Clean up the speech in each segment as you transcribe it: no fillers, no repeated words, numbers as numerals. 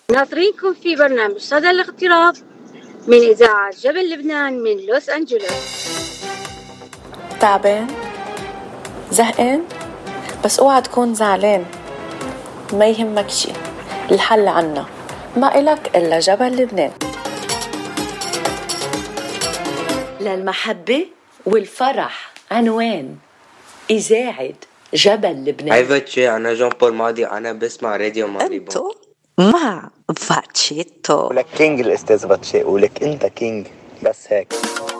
ناطرينكم في برنامج صدى الاغتراب من إذاعة جبل لبنان من لوس أنجلوس. تعبان؟ زهقان؟ بس اوعى تكون زعلان، ما يهمك شي، الحل عنا، ما إلك إلا جبل لبنان. للمحبة والفرح عنوان إذاعة جبل لبنان. هاي فاتشي، أنا جون بول ماضي، أنا بسمع راديو ماضي. أنتو مع فاتشيتو. ولك كينج الأستاذ فاتشي، ولك أنت كينج، بس هيك.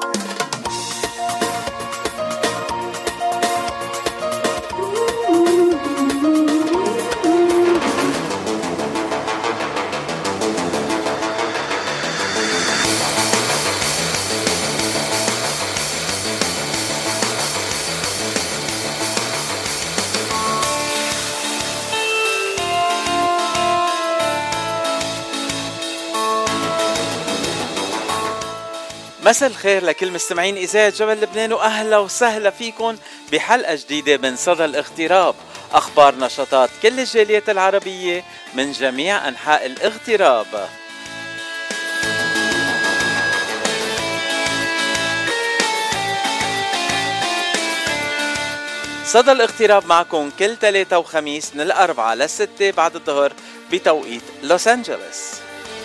مساء الخير لكل مستمعين إذاعة جبل لبنان، وأهلا وسهلا فيكم بحلقة جديدة من صدى الاغتراب، أخبار نشاطات كل الجاليات العربية من جميع أنحاء الاغتراب. صدى الاغتراب معكم كل 3 وخميس من 4 ل 6 بعد الظهر بتوقيت لوس أنجلوس.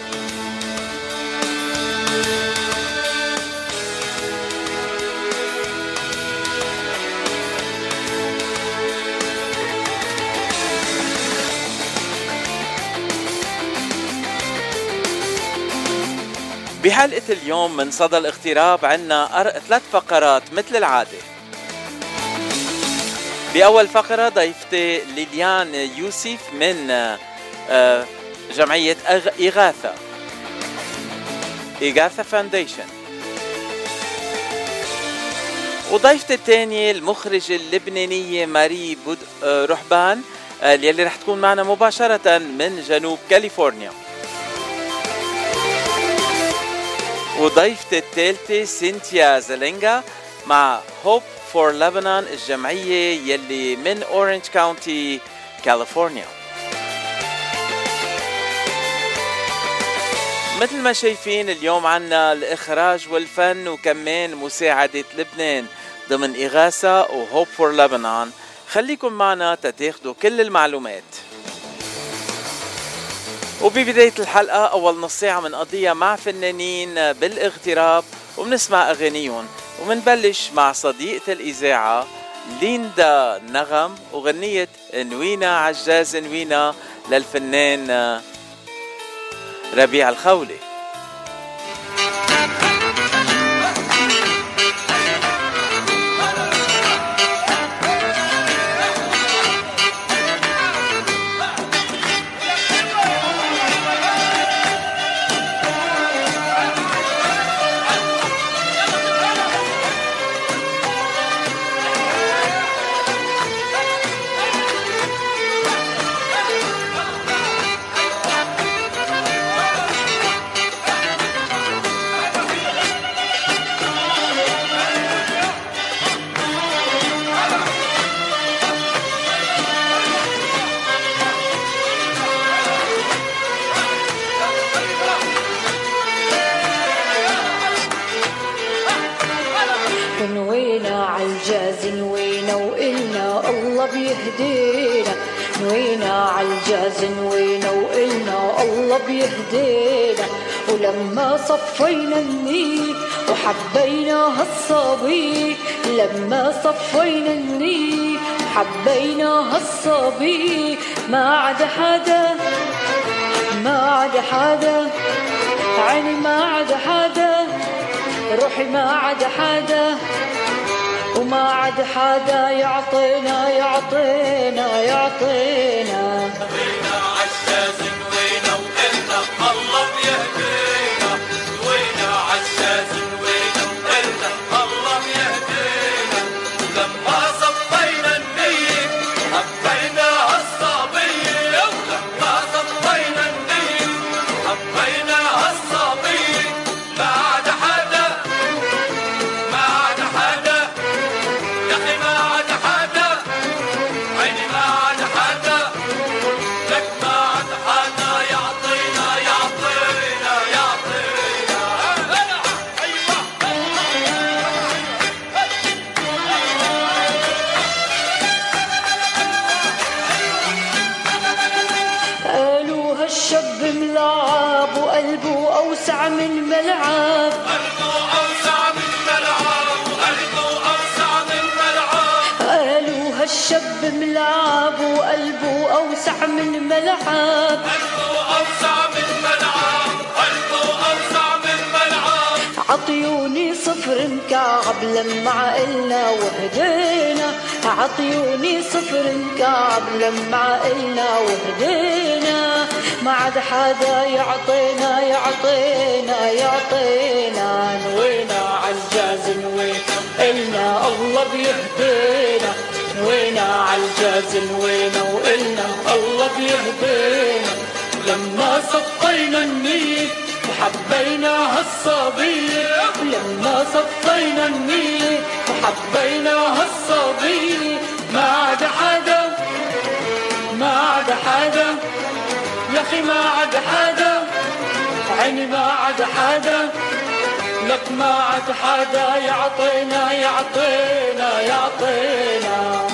بحلقة اليوم من صدى الاغتراب عنا 3 فقرات مثل العادة. بأول فقرة ضيفتي ليليان يوسف من جمعية إغاثة فاونديشن، وضيفتي الثانية المخرجة اللبنانية ماري رحبان اللي رح تكون معنا مباشرة من جنوب كاليفورنيا، وضيفتي الثالثة سينتيا زلينغا مع هوب فور لبنان، الجمعية يلي من أورنج كاونتي كاليفورنيا. مثل ما شايفين اليوم عنا الإخراج والفن وكمان مساعدة لبنان ضمن إغاثة وهوب فور لبنان. خليكم معنا تتاخدوا كل المعلومات. وببداية الحلقة أول نص ساعة منقضيها مع فنانين بالاغتراب وبنسمع أغانيهم، ومنبلش مع صديقة الإذاعة ليندا نغم وغنية نوينا عجاز نوينا للفنان ربيع الخولي. نوينا عالجاز نوينا وإلنا الله بيهدينا، نوينا عالجاز نوينا وإلنا الله بيهدينا، ولما صفينا النيل وحبينا هالصبي، لما صفينا النيل وحبينا هالصبي، ما عاد حدا ما عاد حدا عيني ما عاد حدا روحي ما عاد حدا، وما عاد حدا يعطينا يعطينا يعطينا. نوينا عجاز نوينا وقلنا الله بيهدينا، نوينا عجاز نوينا وقلنا الله بيهدينا، ولما صفينا النيل حبينا هالصبية، ولما صفينا النيل حبينا هالصبية، ما عاد حدا ما عاد حدا يا أخي ما عاد حدا عيني ما عاد حدا لك ما عاد حدا هالشاب ملعب وقلبه أوسع من ملعب، قلبه أوسع من ملعب، قلبه أوسع من ملعب. قالوا هالشاب ملعب وقلبه أوسع من ملعب، قلبه أوسع من ملعب، قلبه أوسع من ملعب. عطيوني صفر مكعب لما عقلنا وهدينا، عطيوني صفر مكعب لما عقلنا وهدينا، ما عاد حدا يعطينا يعطينا يعطينا. نوينا عالجاز نوينا إلنا الله بيهدينا، نوينا عالجاز نوينا وإلنا الله بيهدينا. لما صفينا النية وحبينا هالصبية، لما صفينا النية وحبينا هالصبية، ما عاد حدا ما عاد حدا يا أخي ما عاد حدا، عيني ما عاد حدا لك، ما عاد حدا يعطينا يعطينا يعطينا.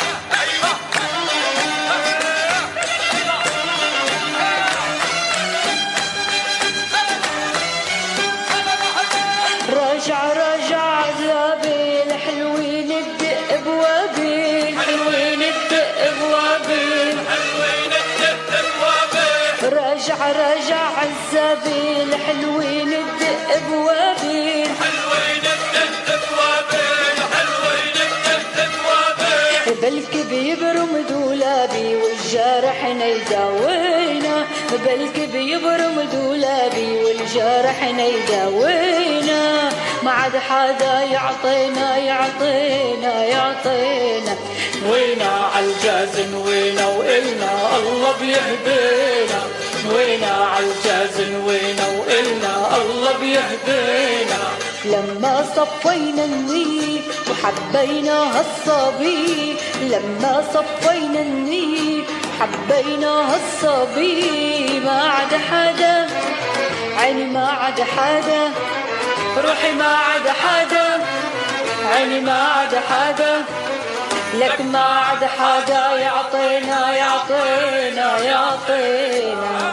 راجع راجع عذابي الحلوين الدق بوابي، حلوين الدق بوابي، حلوين الدق بوابي. راجع راجع عذابي الحلوين الدق بوابي، حلوين الدق بوابي، حلوين الدق بوابي. بلكي بيبرم دولابي والجارح يداوينا، بلكي بيبرم دولابي والجارح يداوينا، ما عاد حدا يعطينا يعطينا يعطينا. نوينا عالجاز نوينا وإلنا الله بيهدينا، نوينا عالجاز نوينا وإلنا الله بيهدينا. لما صفينا النية وحبينا هالصبي، لما صفينا النية وحبينا هالصبي، ما عاد حدا عيني ما عاد حدا، روحي ما عاد حدا، عيني ما عاد حدا لك، ما عاد حدا يعطينا يعطينا يعطينا.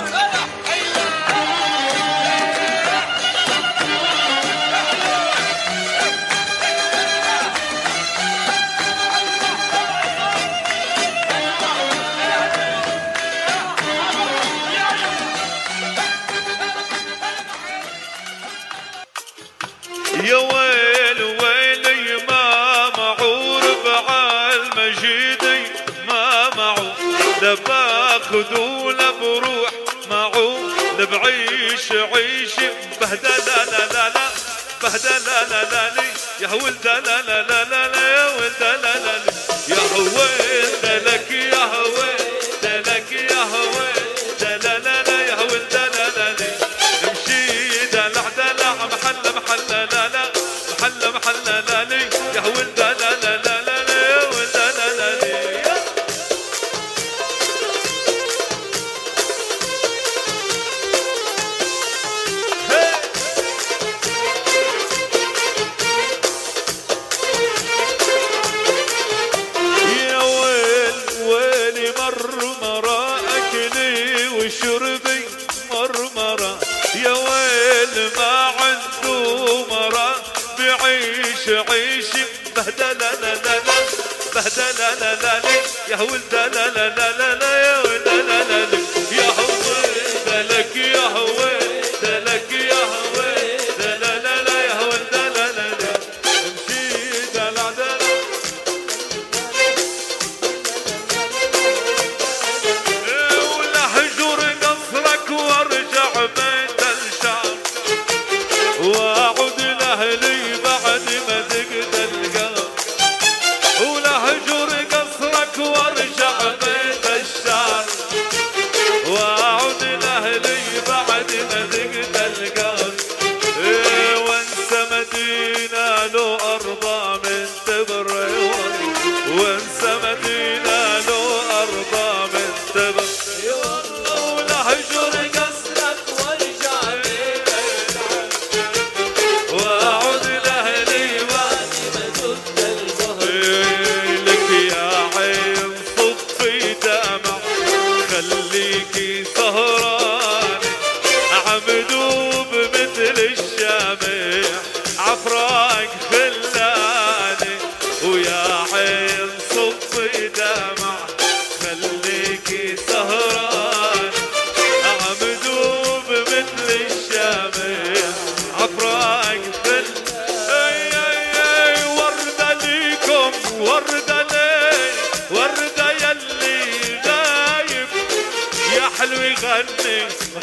يا ويل ويلي ما معور بعالمجيدي، ما معو لباخذ ولا بروح معو لبعيش عيش بهدل لا لا لا لا بهدل لا لا لا لي يا ولد لا لا لا لا لا يا ولد لا لا لا يا ولد لك يا ولد لك يا ولد لا لا لا يا ولد لا لا لا امشي دلع دلع محل محل لا لا محل محل لا لي يا ولد لا لا لا لا يا ولد لا لا لا. يا ويل ويلي مرمرة أكلي وشربي مرمرة، يا ويل ما عنده مرة بعيش عيش بهدل لا لا لا بهدل لا لا لا يا ولد لا لا لا لا لا يا ولد لا لا لا يا ولد لك يا ولد لك يا ولد لا لا لا يا ولد لا لا لا امشي دلع دلع ولهجر قصرك وارجع بيت الشعب واعود لاهلي بعد ما تقتل القلب، ولهجر قصرك وارجع بيت الشعب واعود لاهلي بعد ما تقتل القلب، وانسى مدينة له ارضى من تبر، وانسى مدينة له ارضى من تبر، ولهجر قصرك وارجع بيت واعود لاهلي بعد ما تقتل القلب، لك يا عين صفي دمع خليكي سهران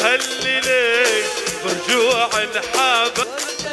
هالليلة برجوع الحبايب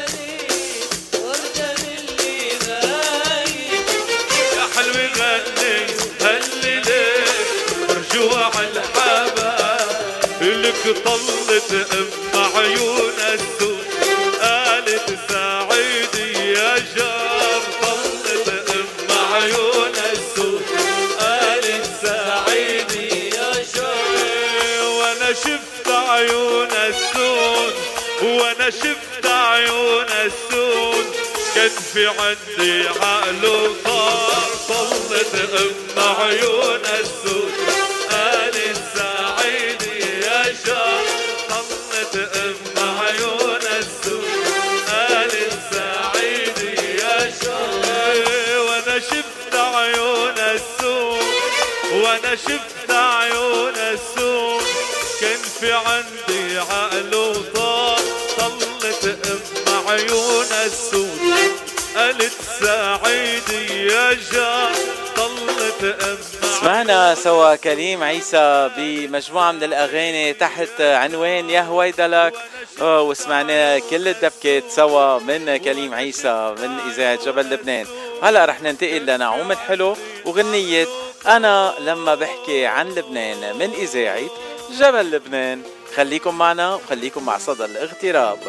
يا حلوة غني هالليلة برجوع الحبايب لك طلت عيون السود قالت سعيدي يا جار طلت عيون السود قالت سعيدي يا جار وانا شفت عيون السود وانا شفت عيون السود كان في عندي عقل وطار طلت عيون السود قالت سعيدي يا جار طلت عيون السود قالت سعيدي يا جار وانا شفت عيون السود وانا شفت عيون السود كان في عندي عقل وطار طلت عيون السود قالت سعيدي يا جار طلت سمعنا سوا كريم عيسى بمجموعة من الأغاني تحت عنوان يا هويدلك، وسمعنا كل الدبكات سوا من كريم عيسى من إذاعة جبل لبنان. هلأ رح ننتقل لنعوم الحلو وغنية أنا لما بحكي عن لبنان من إذاعة جبل لبنان. خليكم معنا وخليكم مع صدى الاغتراب.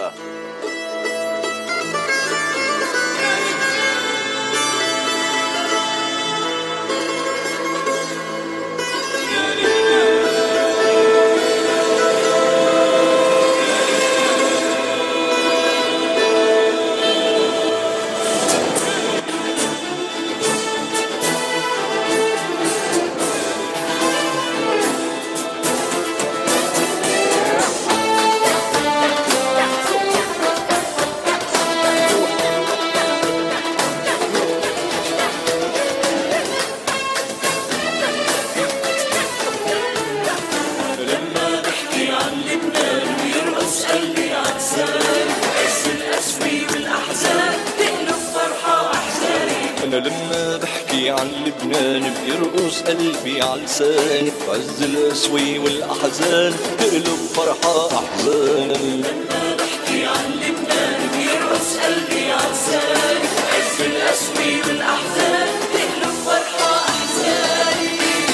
لما بحكي عن لبنان بيرقص قلبي على لساني بعز القسوة والأحزان تقلب فرحة أحزان. لما بحكي عن لبنان بيرقص قلبي على لساني بعز القسوة والأحزان تقلب فرحة أحزان.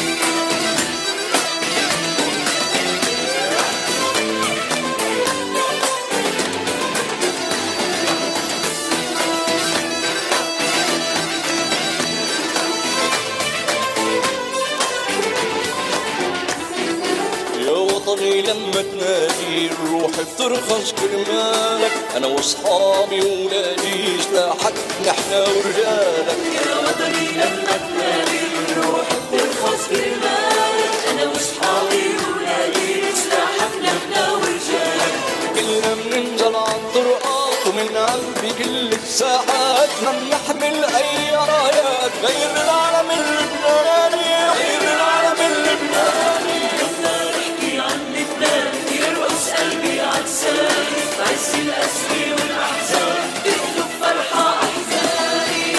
لما تنادي الروح بترخص كرمالك أنا وصحابي وولادي سلاحك نحنا ورجالك. يا وطني لما تنادي الروح بترخص كرمالك أنا وصحابي وولادي سلاحك نحنا ورجالك. كلنا بننزل عالطرقات ومن قلبي كل الساعات ما بنحمل أي رايات غير العالم اللبناني غير العالم اللبناني. يرقص قلبي عالساني بعز القسوة والأحزان تقلب فرحة أحزاني.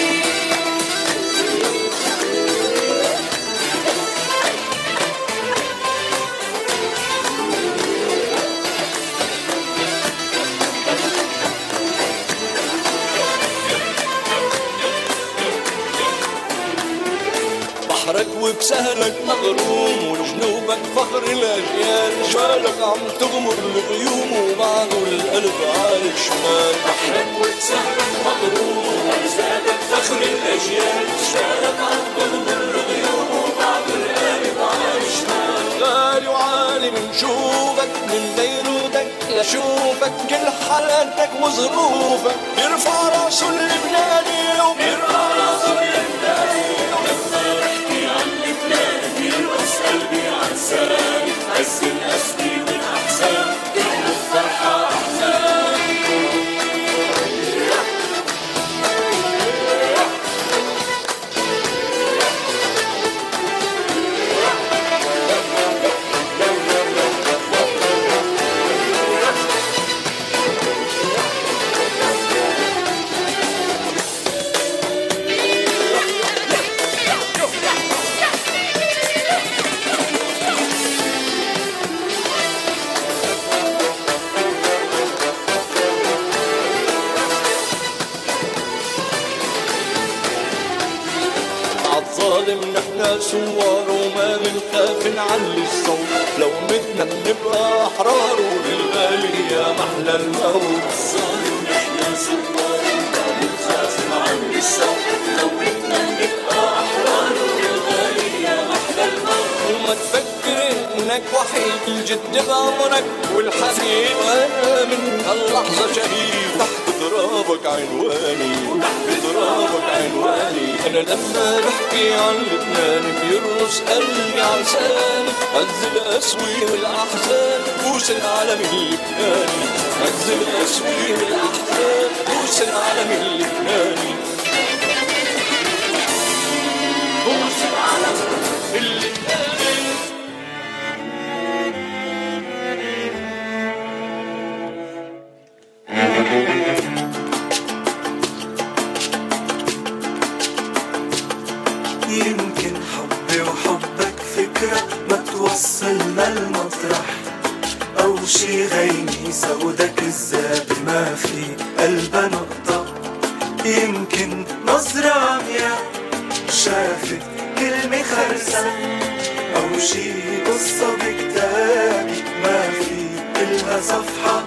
بحرك وبسهلك مغروم وجنوبك فخر الأجيال شمالك عم تغمر الغيوم وبعده القلب على الشمال. بحرك وبسهلك مغروم وجنوبك فخر الأجيال شمالك عم تغمر الغيوم وبعده القلب على الشمال. غالي وعالي بنشوفك من بيروتك لشوفك كل حالاتك وظروفك بيرفع راسه اللبناني وبيرفع راسه اللبناني. يرقص قلبي عن لساني عز القسوة والأحزان تقلب فرحة أحزاني. صور وما بنخاف نعلي الصوت لو بدنا نبقى أحرار وللغالي يا محلى الموت صار ونحن صور وما بنخاف نعلي الصوت لو بدنا نبقى أحرار وللغالي يا محلى الموت وما تفكر إنك وحيد الجد بعمرك والحنين وأنا من هاللحظة شهيد تحت ترابك عنواني تحت ترابك عنواني أنا لما بحكي عن لبنان بيرقص قلبي عشاني عز الأسوي والأحزان بوس العالم اللبناني عز الأسوي والأحزان بوس العالم اللبناني بوس العالم اللبناني يمكن حبي وحبك فكرة ما توصلنا المطرح أو شي غيمي سودة كذاب ما في قلبها نقطة يمكن نظرة عمياء شافت كلمة خرسة أو شي قصة بكتابي ما في إلها صفحة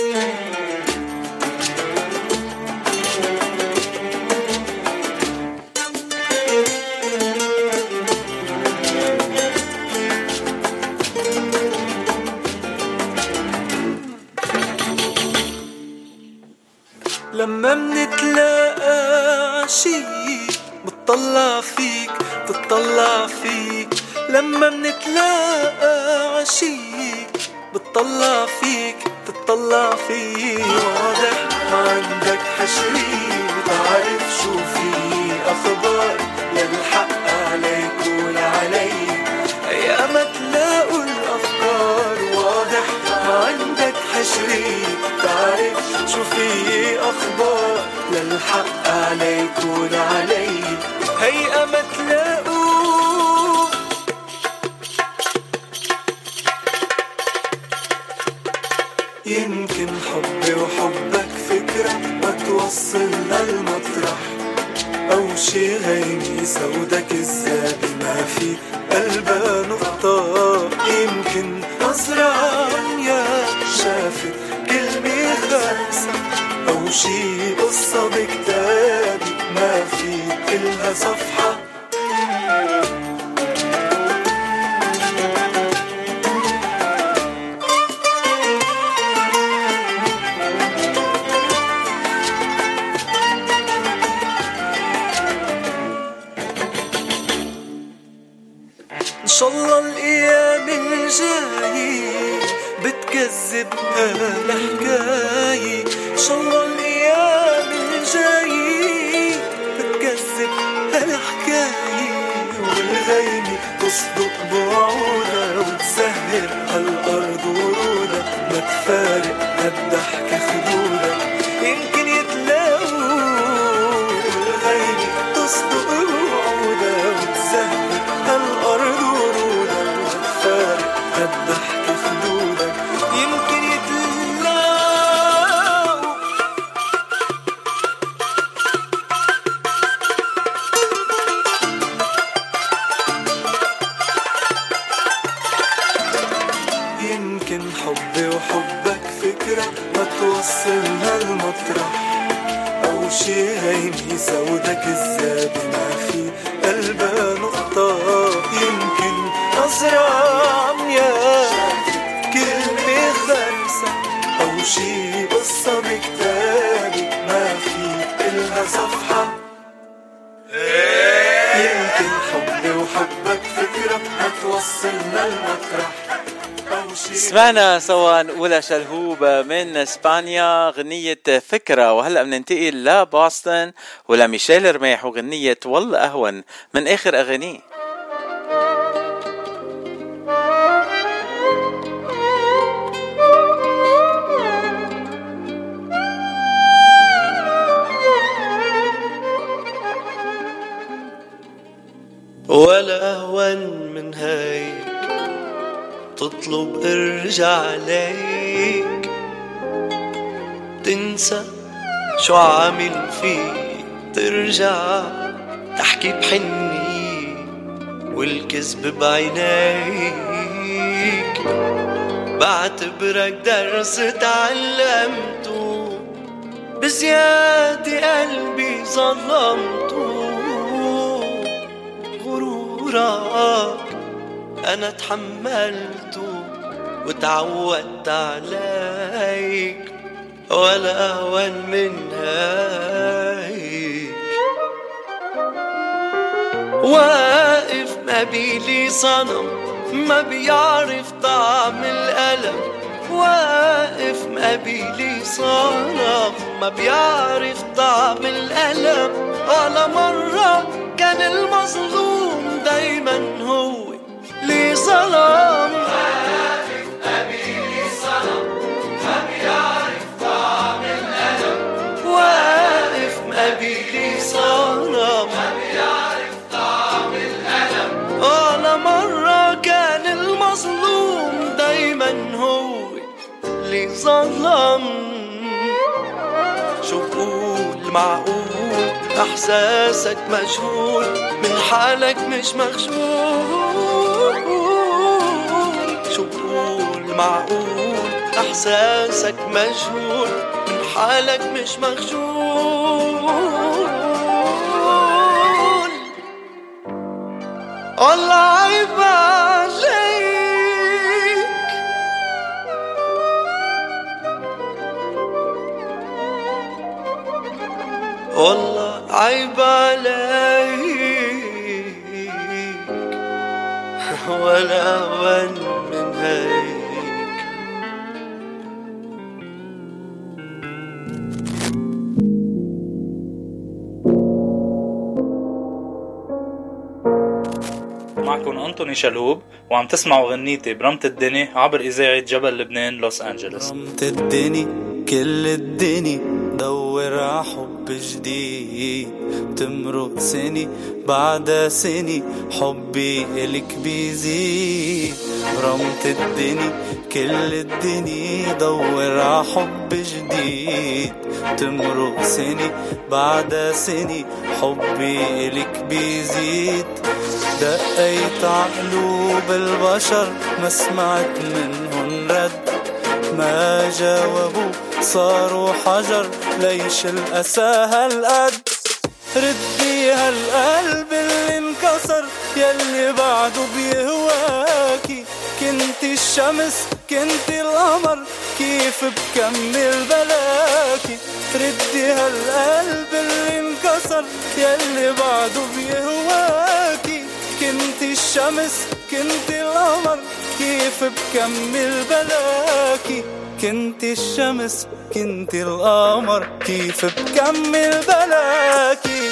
لما منتلاقى عشي بتطلع فيك تطلع فيك لما منتلاقى عشي بتطلع فيك تطلع فيك واضح ما عندك حشري تعرف شو في أخبار للحق عليك ولعلي يا ما تلاقوا الأفكار واضح ما عندك حشري تعرف شو في أخبار للحق عليك ولعلي هيئة ما تلاقوا يمكن حبي وحبك فكرة ما توصلنا المطرح أو شي غيمي سودة كذابة ما في قلبها نقطة يمكن نظرة عمياء شافت كلمة خرسة أو شي قصة بكتابي ما في إلها صفحة إن شاء الله الأيام الجاية بتكذب هالحكاية إن شاء الله الأيام الجاية بتكذب هالحكاية والغيمة تصدق بوعودها وتسهر هالأرض ورودها ما تفارق هالضحكة خدودها يمكن يتلاقوا والغيمة تصدق بوعودها وتسهر هالأرض ورودها ما تفارق هالضحكة خدودها يمكن يتلاقوا يمكن حبي وحبك فكرة ما توصلنا المطرح أو شي هيمي سودة كذابة ما في قلبها نقطة يمكن نظرة عمياء كلمة خرسة أو شي قصة بكتابي ما في إلها صفحة يمكن حبي وحبك فكرة ما توصلنا المطرح. سمعنا سوا أولى شلهوبة من اسبانيا غنية فكرة، وهلأ بننتقل لبوسطن ولميشيل رميح وغنية والله أهون من آخر أغانيه. ولا أهون من هيك تطلب ارجع عليك، تنسى شو عامل فيك، ترجع تحكي بحني والكذب بعينيك، بعتبرك درس تعلمته، بزيادة قلبي ظلمته. غرورك أنا تحملته وتعودت عليك، ولا أهون من هيك. واقف ما بيلي صنم ما بيعرف طعم الألم، واقف ما بيلي صنم ما بيعرف طعم الألم. ولا مرة كان المظلوم دايما هو اللي ظلم. واقف ما بيلي صنم ما بيعرف طعم الألم، واقف ما بيلي صنم ما بيعرف طعم الألم. ولا مرة كان المظلوم دايما هو اللي ظلم. شو بقول معقول احساسك مجهول من حالك مش مخجول. شو بقول معقول احساسك مجهول من حالك مش مخجول. والله عيب عليك، والله عيب عليك، ولا أهون من هيك. معكم أنطوني شلهوب وعم تسمعوا غنيتي برمت الدني عبر إذاعة جبل لبنان لوس أنجلوس. برمت الدني كل الدني دور ع حب جديد، تمرق سني بعد سني حبي إلك بيزيد. برمت الدني كل الدني دور ع حب جديد، تمرق سني بعد سني حبي إلك بيزيد. دقيت عقلوب البشر ما سمعت منهن رد، ما جاوبوا صاروا حجر ليش الأسى هالقد. ردي هالقلب اللي انكسر يلي بعده بيهواكي، كنت الشمس كنت القمر كيف بكمل بلاكي. ردي هالقلب اللي انكسر يلي بعده بيهواكي، كنت الشمس كنت القمر كيف بكمل بلاكي. كنت الشمس كنت القمر كيف بكمل بلاكي.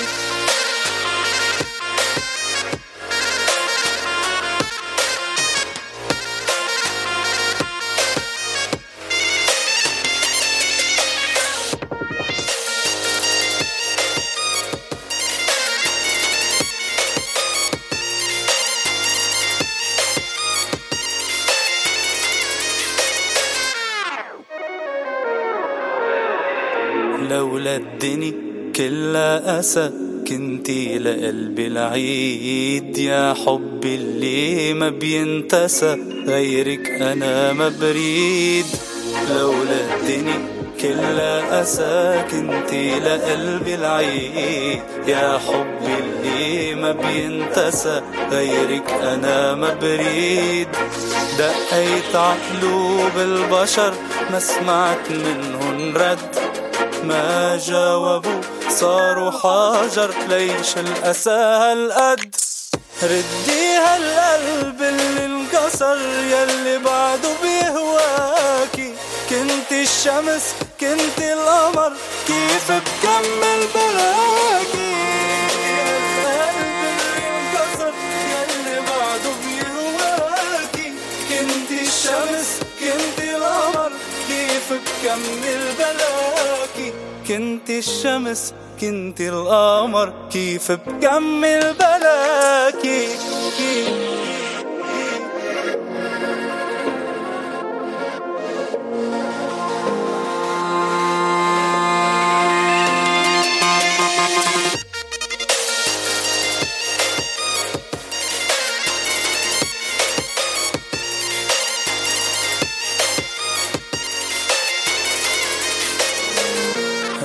لولا الدني كلها أسى كنتي لقلبي العيد، يا حبي اللي ما بينتسى غيرك أنا ما بريد. لولا الدني كلها أسى كنتي لقلبي العيد، يا حبي اللي ما بينتسى غيرك أنا ما بريد. دقيت عقلوب البشر ما سمعت منهن رد، ما جاوبوا صاروا حجر ليش الأسى هالقد. ردي هالقلب اللي انكسر يلي بعده بيهواكي، كنت الشمس كنت القمر كيف بكمل بلاكي. هالقلب اللي انكسر يلي بعده بيهواكي، كنت الشمس كنت القمر كيف بكمل بلاكي. كنت الشمس كنت القمر كيف بكمل بلاكي.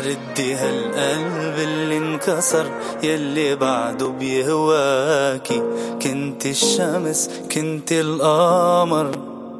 ردي هالقلب اللي انكسر يلي بعده بيهواكي. كنت الشمس كنت القمر.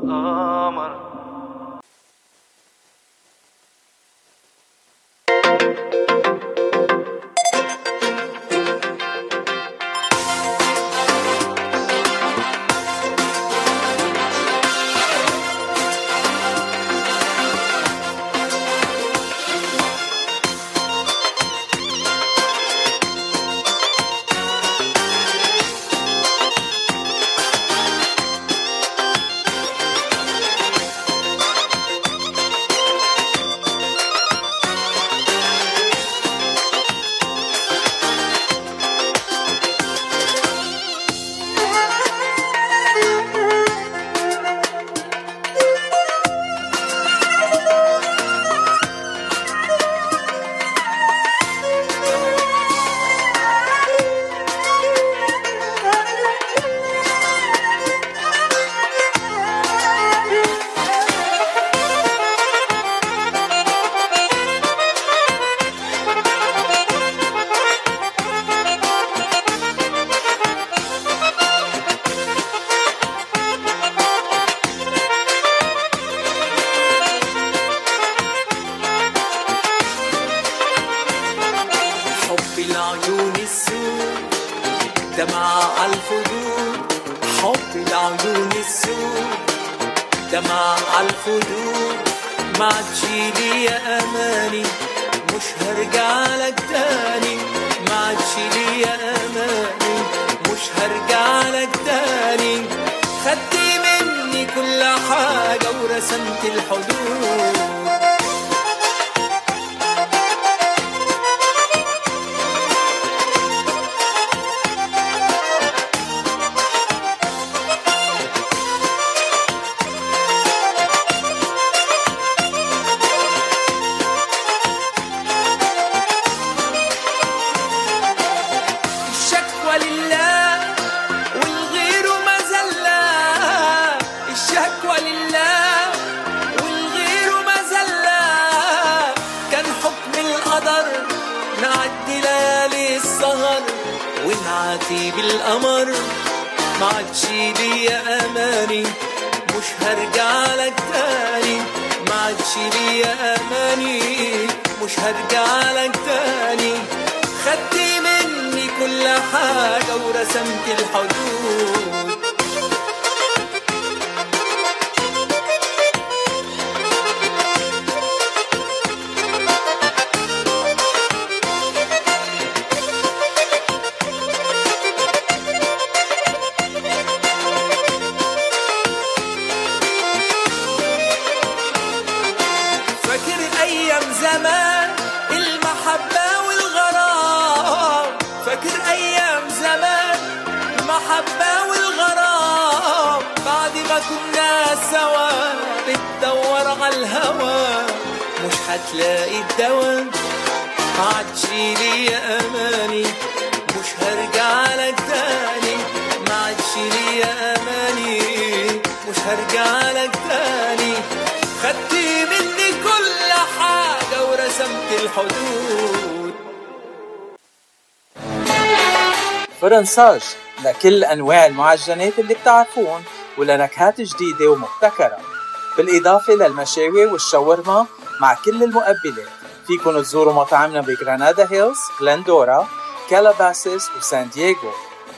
فرنساج لكل أنواع المعجنات اللي بتعرفون ولنكهات جديدة ومبتكرة، بالإضافة للمشاوي والشاورما مع كل المقبلات. فيكن تزوروا مطاعمنا بغرانادا هيلز، غلندورا، كالاباسيس وسان دييغو.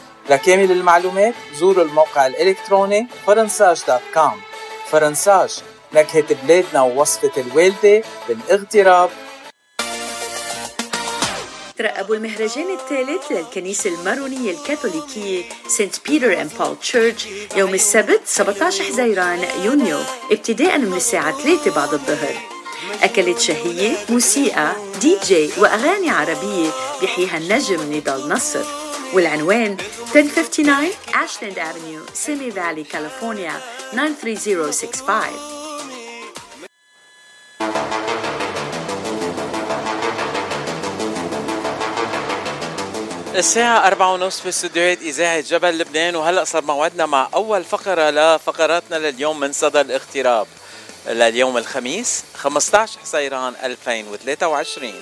لكامل المعلومات زوروا الموقع الإلكتروني فرنساج.com. فرنساج، نكهة بلادنا ووصفة الوالدة بالاغتراب. ترقبوا المهرجان الثالث للكنيسة المارونية الكاثوليكية سانت بيتر اند بول تشيرش يوم السبت 17 حزيران يونيو ابتداء من الساعة 3 بعد الظهر. أكلات شهية، موسيقى، دي جي وأغاني عربية بيحييها النجم نضال نصر. والعنوان 1059 أشلاند أفنيو، سيمي فالي، كاليفورنيا 93065. الساعة 4:30 في استوديوهات إذاعة جبل لبنان، وهلأ صار موعدنا مع أول فقرة لفقراتنا لليوم من صدى الاغتراب. لليوم الخميس 15 حزيران 2023.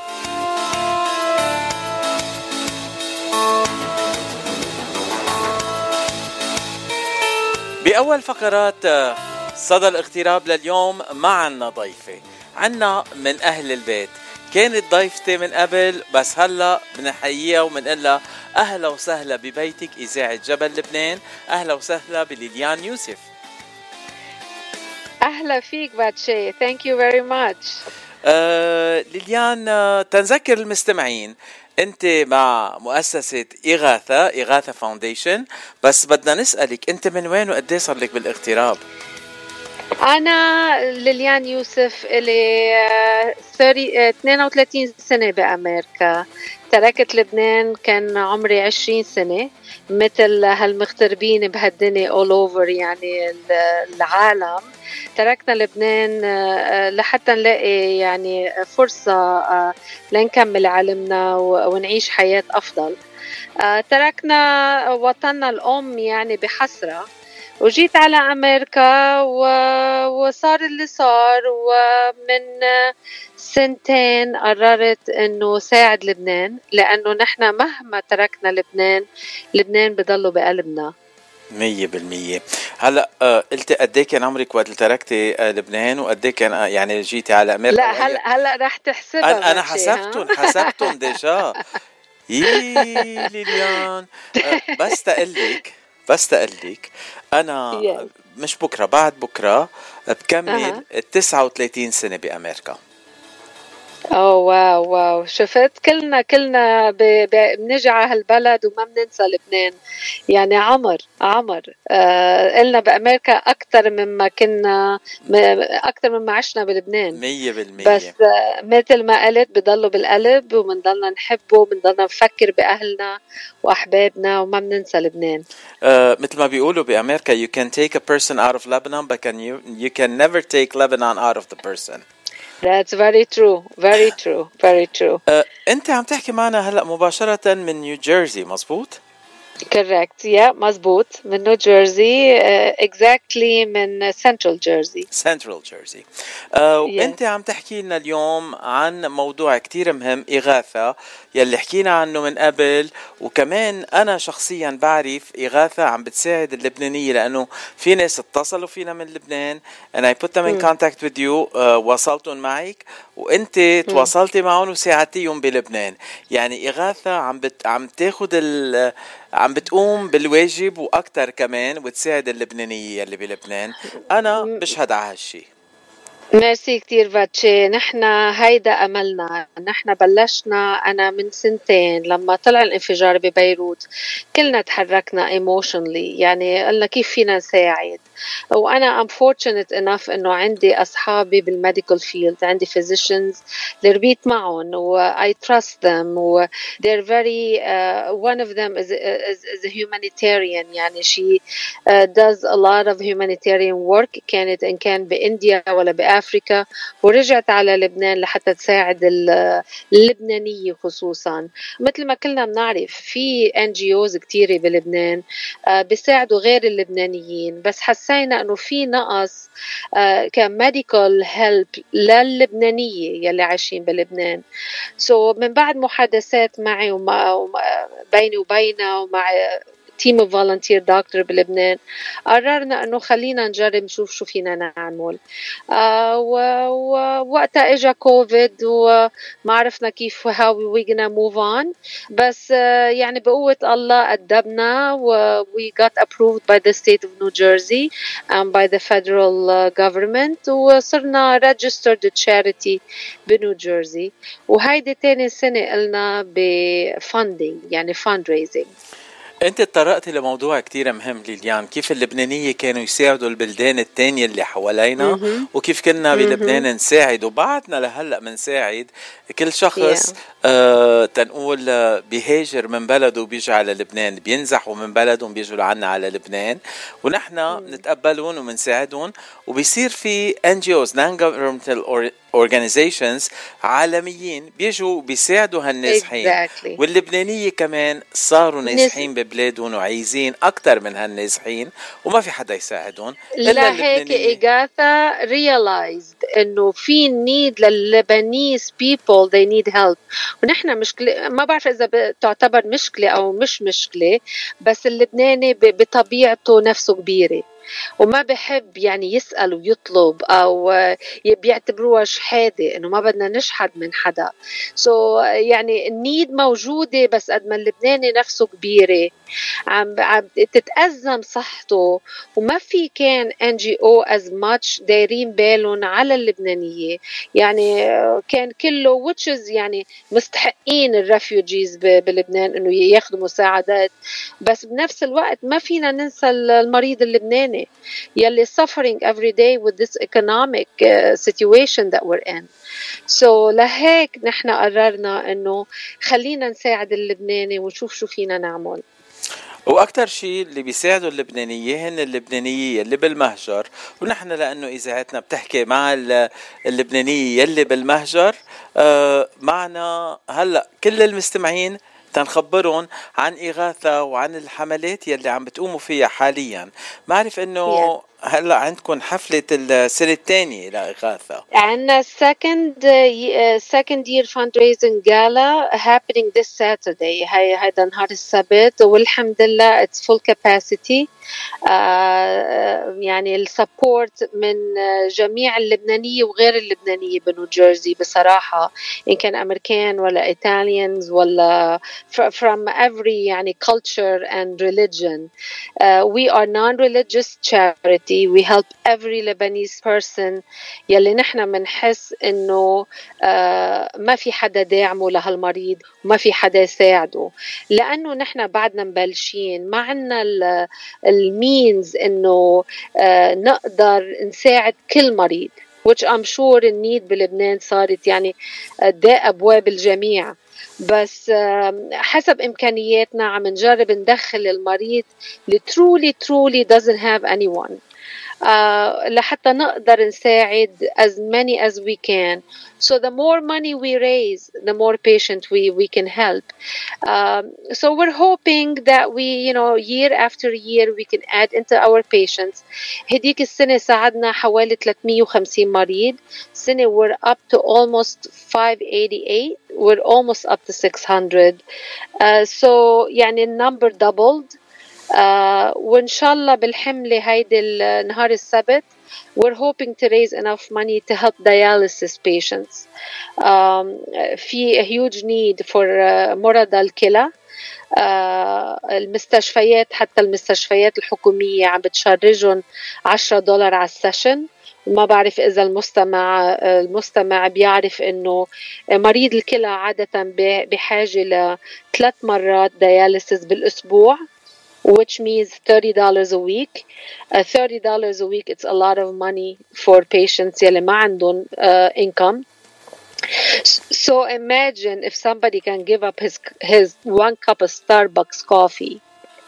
بأول فقرات صدى الاغتراب لليوم معنا ضيفة عنا من أهل البيت، كانت ضيفتي من قبل بس هلأ بنحييها ومنقلها أهلا وسهلا ببيتك إذاعة جبل لبنان. أهلا وسهلا بليليان يوسف. أهلا فيك باتشي. thank you very much. ليليان، تنذكر المستمعين أنت مع مؤسسة إغاثة فاونديشن، بس بدنا نسألك أنت من وين وقديه صار لك بالاغتراب؟ أنا ليليان يوسف إلي 32 سنة بأمريكا. تركت لبنان كان عمري 20 سنة، مثل هالمغتربين بهالدنيا all over يعني العالم. تركنا لبنان لحتى نلاقي يعني فرصة لنكمل علمنا ونعيش حياة أفضل. تركنا وطننا الأم يعني بحسرة، وجيت على أمريكا وصار اللي صار. ومن 2 سنين قررت أنه ساعد لبنان، لأنه نحن مهما تركنا لبنان بضله بقلبنا 100%. هلا قلت قد ايه كان عمرك وقت تركتي لبنان وقد ايه كان يعني جيتي على امريكا؟ لا هلا رح تحسبها. انا حسبتهم ديجا. ليليان، بس تقلك انا مش بكره، بعد بكره بكمل 39 سنه بامريكا. واو شفت، كلنا بنجي على هالبلد وما بننسى لبنان. يعني عمر قلنا بأمريكا أكتر مما عشنا بلبنان 100%. بس مثل ما قلت بضلوا بالقلب، ومنضلنا نحبه ومنضلنا نفكر بأهلنا وأحبابنا وما بننسى لبنان. مثل ما بيقولوا بأمريكا you can take a person out of Lebanon but you can never take Lebanon out of the person. That's very true. أنت عم تحكي معنا هلأ مباشرة من نيوجيرسي، مزبوط؟ correct مزبوط، من نيوجيرسي exactly من Central Jersey. وأنت عم تحكي لنا اليوم عن موضوع كتير مهم، إغاثة يلي حكينا عنه من قبل. وكمان أنا شخصيا بعرف إغاثة عم بتساعد اللبنانية، لأنه في ناس اتصلوا فينا من لبنان and I put them in contact with you. وصلتهم معك وأنت تواصلتي معهم وساعدتيهم بلبنان. يعني إغاثة عم تاخد عم بتقوم بالواجب وأكتر كمان، وتساعد اللبنانية اللي بلبنان. أنا بشهد على هالشي. ميرسي كتير باتشي. نحن هيدا أملنا. نحن بلشنا أنا من 2 سنين لما طلع الانفجار ببيروت، كلنا تحركنا emotionally، يعني قلنا كيف فينا نساعد. وأنا I'm fortunate enough إنه عندي أصحابي بالميديكال فيلد، عندي physicians اللي ربيت معهم و I trust them و they're very one of them is a humanitarian. يعني she does a lot of humanitarian work. كانت إن كان بإنديا ولا بأفريكا، ورجعت على لبنان لحتى تساعد اللبنانية خصوصا. مثل ما كلنا بنعرف في NGOs كتيرة بلبنان بيساعدوا غير اللبنانيين، بس حسينا انه في نقص كميديكال هيلب للبنانية يلي عايشين بلبنان. من بعد محادثات معي بيني وبينها ومع تيم اوف فولنتير دكتور بلبنان، قررنا انه خلينا نجرب نشوف شو فينا نعمل. ووقتها اجا كوفيد وما عرفنا كيف how we gonna move on. بس يعني بقوة الله أدبنا we got approved by the state of New Jersey and by the federal government، وصرنا registered charity بنيو جيرسي. وهيدي تاني سنة قلنا بفاندينج يعني fundraising. أنت تطرقتي لموضوع كتير مهم ليليان، كيف اللبنانية كانوا يساعدوا البلدان التانية اللي حوالينا وكيف كنا بلبنان نساعد، وبعدنا لهلأ منساعد كل شخص تنقول بيهاجر من بلده وبيجي على لبنان، بينزحوا من بلدهم بيجوا لعنا على لبنان، ونحن نتقبلون ومنساعدون. وبيصير في NGOs non-governmental organizations عالميين بيجوا بيساعدوا هالنازحين exactly. واللبنانية كمان صاروا نازحين ببلادهم وعايزين أكتر من هالنازحين وما في حدا يساعدهم إلا هيك إغاثة realized إنه في need لللبنانيز people they need help. ونحن مشكلة ما بعرف إذا تعتبر مشكلة أو مش مشكلة، بس اللبناني بطبيعته نفسه كبيرة وما بحب يعني يسأل ويطلب أو بيعتبروها شحادة إنه ما بدنا نشحد من حدا. يعني النيد موجودة، بس قد ما اللبناني نفسه كبيرة عم تتأزم صحته وما في كان NGO as much دايرين بالهم على اللبنانية. يعني كان كله which is يعني مستحقين الرفيوجيز بلبنان إنه ياخدوا مساعدات، بس بنفس الوقت ما فينا ننسى المريض اللبناني يلي suffering every day with this economic situation that we're in. لهيك نحن قررنا إنه خلينا نساعد اللبناني ونشوف شو فينا نعمل. وأكتر شيء اللي بيساعدوا اللبنانية هن اللبنانية اللي بالمهجر، ونحن لأنه إذاعتنا بتحكي مع اللبنانية اللي بالمهجر معنا هلأ كل المستمعين تنخبرهم عن إغاثة وعن الحملات يلي عم بتقوموا فيها حاليا. معرف إنه هلا عندكم حفلة السنة الثانية لإغاثة. عندنا second year fundraising gala happening this Saturday. هيدا نهار السبت، والحمد لله it's full capacity. يعني السبورت من جميع اللبنانية وغير اللبنانية بنيو جيرسي بصراحة، إن كان أمريكان ولا Italians ولا from every يعني culture and religion. We are non-religious charity. We help every Lebanese person يلي نحن منحس إنه ما في حدا داعمه لهالمريض وما في حدا يساعده، لأنه نحن بعدنا مبلشين ما عنا المينز إنه نقدر نساعد كل مريض، which I'm sure النيد بلبنان صارت يعني داء أبواب الجميع، بس حسب إمكانياتنا عم نجرب ندخل المريض اللي truly doesn't have anyone لحتى نقدر نساعد as many as we can. So the more money we raise, the more patient we can help. So we're hoping that we, year after year, we can add into our patients. هديك السنة ساعدنا حوالي 350 مريض. سنة we're up to almost 588. We're almost up to 600. So يعني النمبر doubled. وإن شاء الله بالحملة هيدي النهار السبت we're hoping to raise enough money to help dialysis patients. في a huge need for مرضى الكلى. المستشفيات حتى المستشفيات الحكومية عم بتشرجهم $10 على السيشن. ما بعرف إذا المستمع بيعرف إنه مريض الكلى عادة بحاجة ل3 مرات dialysis بالأسبوع, which means $30 a week. $30 a week, it's a lot of money for patients يلي ما عندهم income. So imagine if somebody can give up his 1 cup of Starbucks coffee.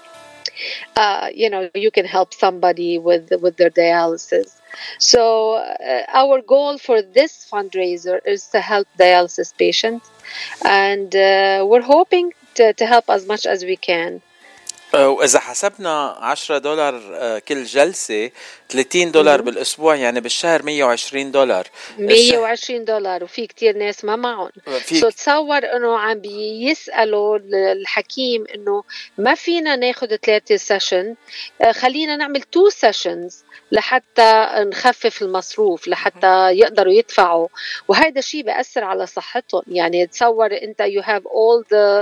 You can help somebody with their dialysis. So our goal for this fundraiser is to help dialysis patients, and we're hoping to help as much as we can. وإذا حسبنا $10 كل جلسة $30 بالأسبوع, يعني بالشهر $120. $120, وفي كتير ناس ما معهم. تصور إنه عم بيسألوا الحكيم إنه ما فينا ناخد 3 سيشن, خلينا نعمل 2 سيشنز لحتى نخفف المصروف, لحتى يقدروا يدفعوا, وهذا الشيء بيأثر على صحتهم. يعني تصور أنت you have all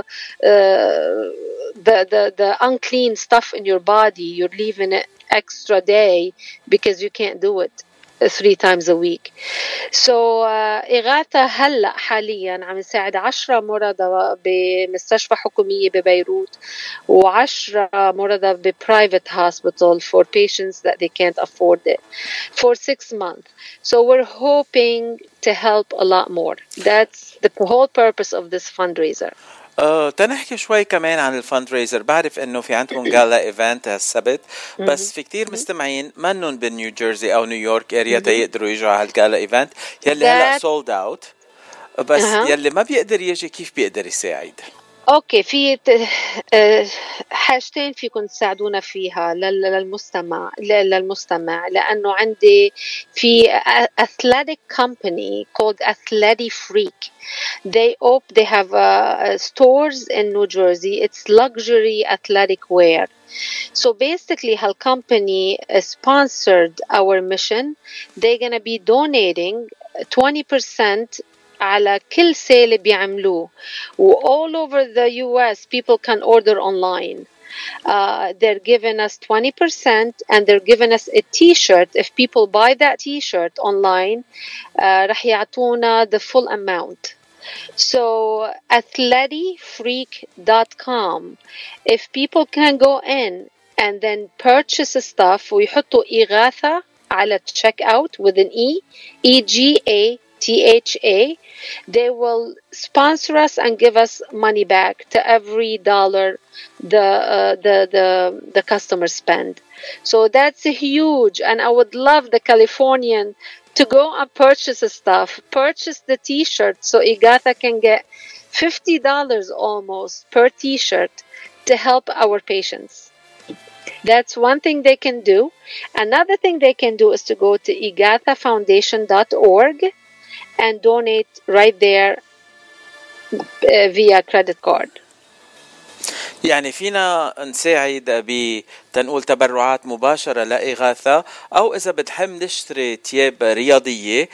the unclean stuff in your body, you're leaving it extra day because you can't do it 3 times a week. So إغاثة هلأ حاليا عم نساعد 10 مرضى بمستشفى حكومية ببيروت و10 مرضى ب-private hospital for patients that they can't afford it for 6 months. So we're hoping to help a lot more. That's the whole purpose of this fundraiser. تنحكي شوي كمان عن الفند ريزر. بعرف انه في عندكم جالا ايفنت هالسبت، بس في كتير مستمعين منن بنيو جيرسي او نيويورك اريا تيقدروا يجوا على هالجالا ايفنت يلي هلا سولد اوت، بس يلي ما بيقدر يجي كيف بيقدر يساعد؟ اوكي، في حاجتين فيكم تساعدونا فيها للمستمع لانه عندي في athletic company called Athletic Freak. They have stores in New Jersey. It's luxury athletic wear. So basically her company sponsored our mission. They're going to be donating 20% على كل sale بيعملوه. all over the US people can order online. They're giving us 20% and they're giving us a t-shirt. If people buy that t-shirt online, رح يعطونا the full amount. So athleticfreak.com. If people can go in and then purchase stuff ويحطوا إغاثة على checkout with an EGATHA, they will sponsor us and give us money back to every dollar the customer spend. So that's huge, and I would love the Californian to go and purchase purchase the t-shirt so Igatha can get $50 almost per t-shirt to help our patients. That's one thing they can do. Another thing they can do is to go to igathafoundation.org and donate right there via credit card. يعني فينا نساعد بتنقول تبرعات مباشرة لإغاثة، أو إذا بتحب نشتري تياب رياضية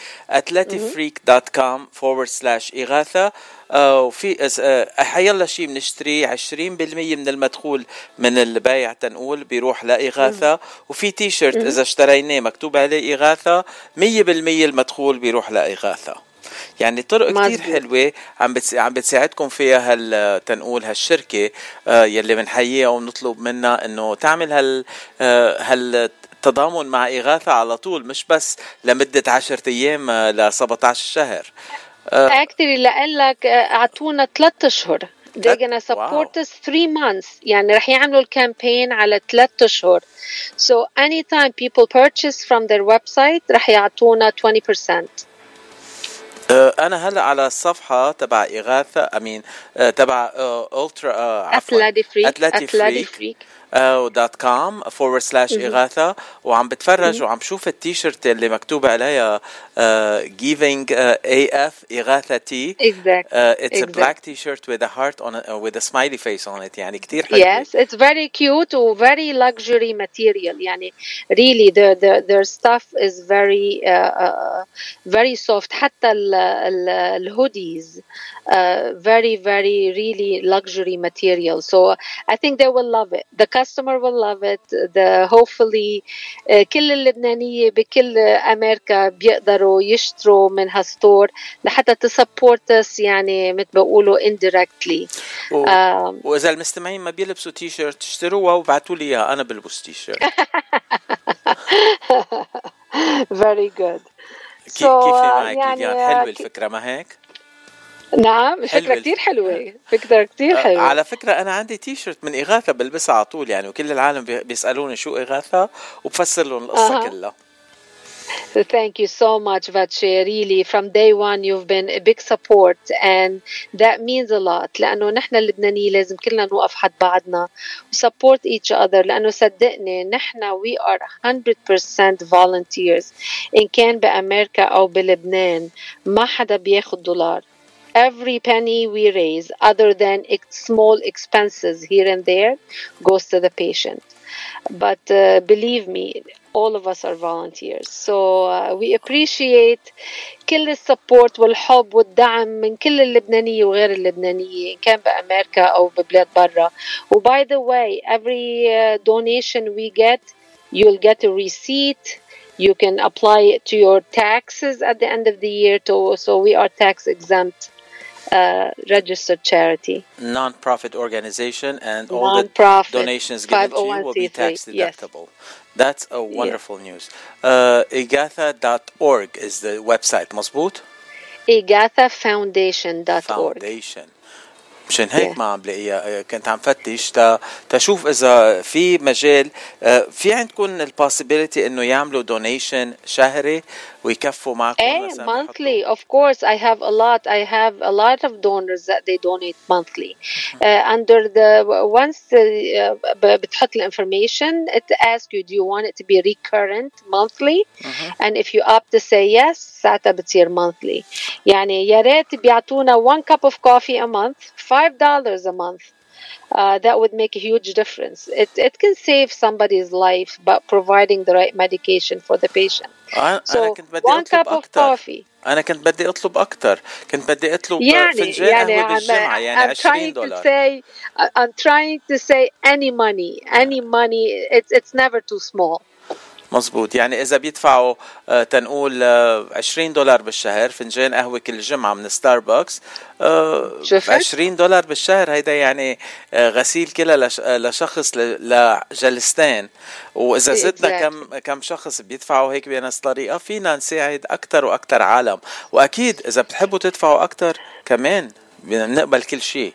athleticfreak.com/إغاثة. وفي حيلا شيء بنشتري 20% من المدخول من البيع تنقول بيروح لإغاثة. وفي تي شيرت إذا اشتريناه مكتوب عليه إغاثة 100% المدخول بيروح لإغاثة. يعني طرق كتير حلوة عم بتساعدكم فيها تنقول هالشركة يلي بنحييها ونطلب منها انه تعمل هالتضامن مع إغاثة على طول، مش بس لمدة 10 أيام ل 17 شهر. Actually لقلك اعطونا 3 أشهر. They're gonna support us 3 months. يعني رح يعملوا الكامبين على 3 أشهر. So anytime people purchase from their website رح يعطونا 20%. أنا هلأ على الصفحة تبع إغاثة تبع Athletic Freak .com/إغاثة، وعم بتفرج وعم بشوف التيشيرت اللي مكتوب عليها giving AF إغاثة T. It's a black t-shirt with a heart on it, with a smiley face on it. يعني كتير حلو. Yes, it's very cute و very luxury material. يعني really their stuff is very soft. حتى الhoodies very really luxury material. So I think they will love it. The customer will love it. Hopefully كل اللبنانية بكل أمريكا بيقدروا يشتروا من هالستور لحتى تسبورت us، يعني مثل بقولوا indirectly. وإذا المستمعين ما بيلبسوا تي شيرت اشتروها وبعتوا لي إياها، أنا بلبس تي شيرت. Very good. كيف معك يعني حلوة الفكرة ما هيك؟ نعم، فكرة كتير حلوة. فكرة كتير حلوة. على فكرة أنا عندي تي شيرت من إغاثة بلبسها على طول يعني، وكل العالم بيسألوني شو إغاثة وبفسر لهم القصة كلها. Thank you so much, Vache. Really, from day one, you've been a big support, and that means a lot. لأنه نحن اللبنانيين لازم كلنا نوقف حد بعضنا support each other. لأنه صدقني نحن we are 100% volunteers. إن كان بأمريكا أو بلبنان ما حدا بياخد $. Every penny we raise, other than small expenses here and there, goes to the patient. But believe me, all of us are volunteers. So we appreciate كل السبورت والحب والدعم من كل اللبنانية وغير اللبنانية، إن كان بأمريكا أو ببلاد برا. By the way, every donation we get, you'll get a receipt. You can apply it to your taxes at the end of the year. So we are tax exempt. Registered charity, non-profit organization, and all the donations given to you will be tax deductible. Yes. That's a wonderful news. Igatha.org is the website. مظبوط؟ igathafoundation.org. Foundation. مشان هيك ما عم بلاقيها. كنت عم فتش تشوف إذا في مجال في عندكم البوسيبيليتي إنه يعملوا دونيشن شهري ويكفوا معكم مثلا. monthly, of course. I have a lot of donors that they donate monthly. Under the once بتحط information, it asks you, do you want it to be recurrent monthly? And if you opt to say yes, ساعتها بتصير monthly. يعني يا ريت بيعطونا 1 cup of coffee a month, $5 a month. That would make a huge difference. It can save somebody's life, but providing the right medication for the patient. So 1 cup of coffee. أنا كنت بدي أطلب أكتر. كنت بدي أطلب فنجان قهوة بالجمعة يعني $20. I'm trying to say any money. It's never too small. مزبوط. يعني إذا بيدفعوا تنقول $20 بالشهر فنجان قهوة كل جمعة من ستاربكس، $20 بالشهر هيدا يعني غسيل كلها لشخص لجلستين. وإذا زدنا كم شخص بيدفعوا هيك بنفس الطريقة فينا نساعد أكتر وأكتر عالم. وأكيد إذا بتحبوا تدفعوا أكتر كمان بنقبل كل شيء.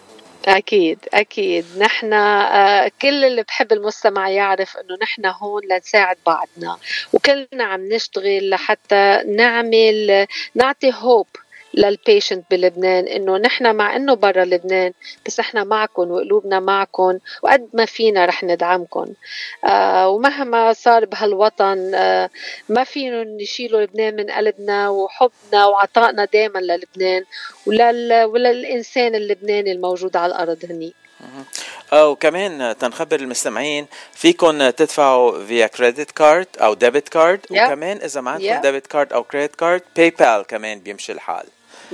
أكيد نحن كل اللي بحب المستمع يعرف إنه نحن هون لنساعد بعضنا، وكلنا عم نشتغل لحتى نعطي hope للبيشنت بلبنان إنه نحن مع إنه برا لبنان بس إحنا معكم وقلوبنا معكم وقد ما فينا رح ندعمكم. ومهما صار بهالوطن ما فينا نشيلوا لبنان من قلبنا وحبنا وعطائنا دائما للبنان وللإنسان اللبناني الموجود على الأرض هني. وكمان تنخبر المستمعين فيكن تدفعوا via credit card أو debit card. وكمان إذا ما عندكم debit card أو credit card PayPal كمان بيمشي الحال.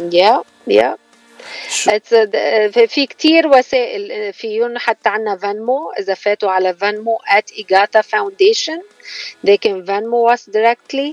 في كتير وسائل فيهم، حتى عنا فانمو. إذا فاتوا على فانمو @Igata Foundation they can Venmo us directly,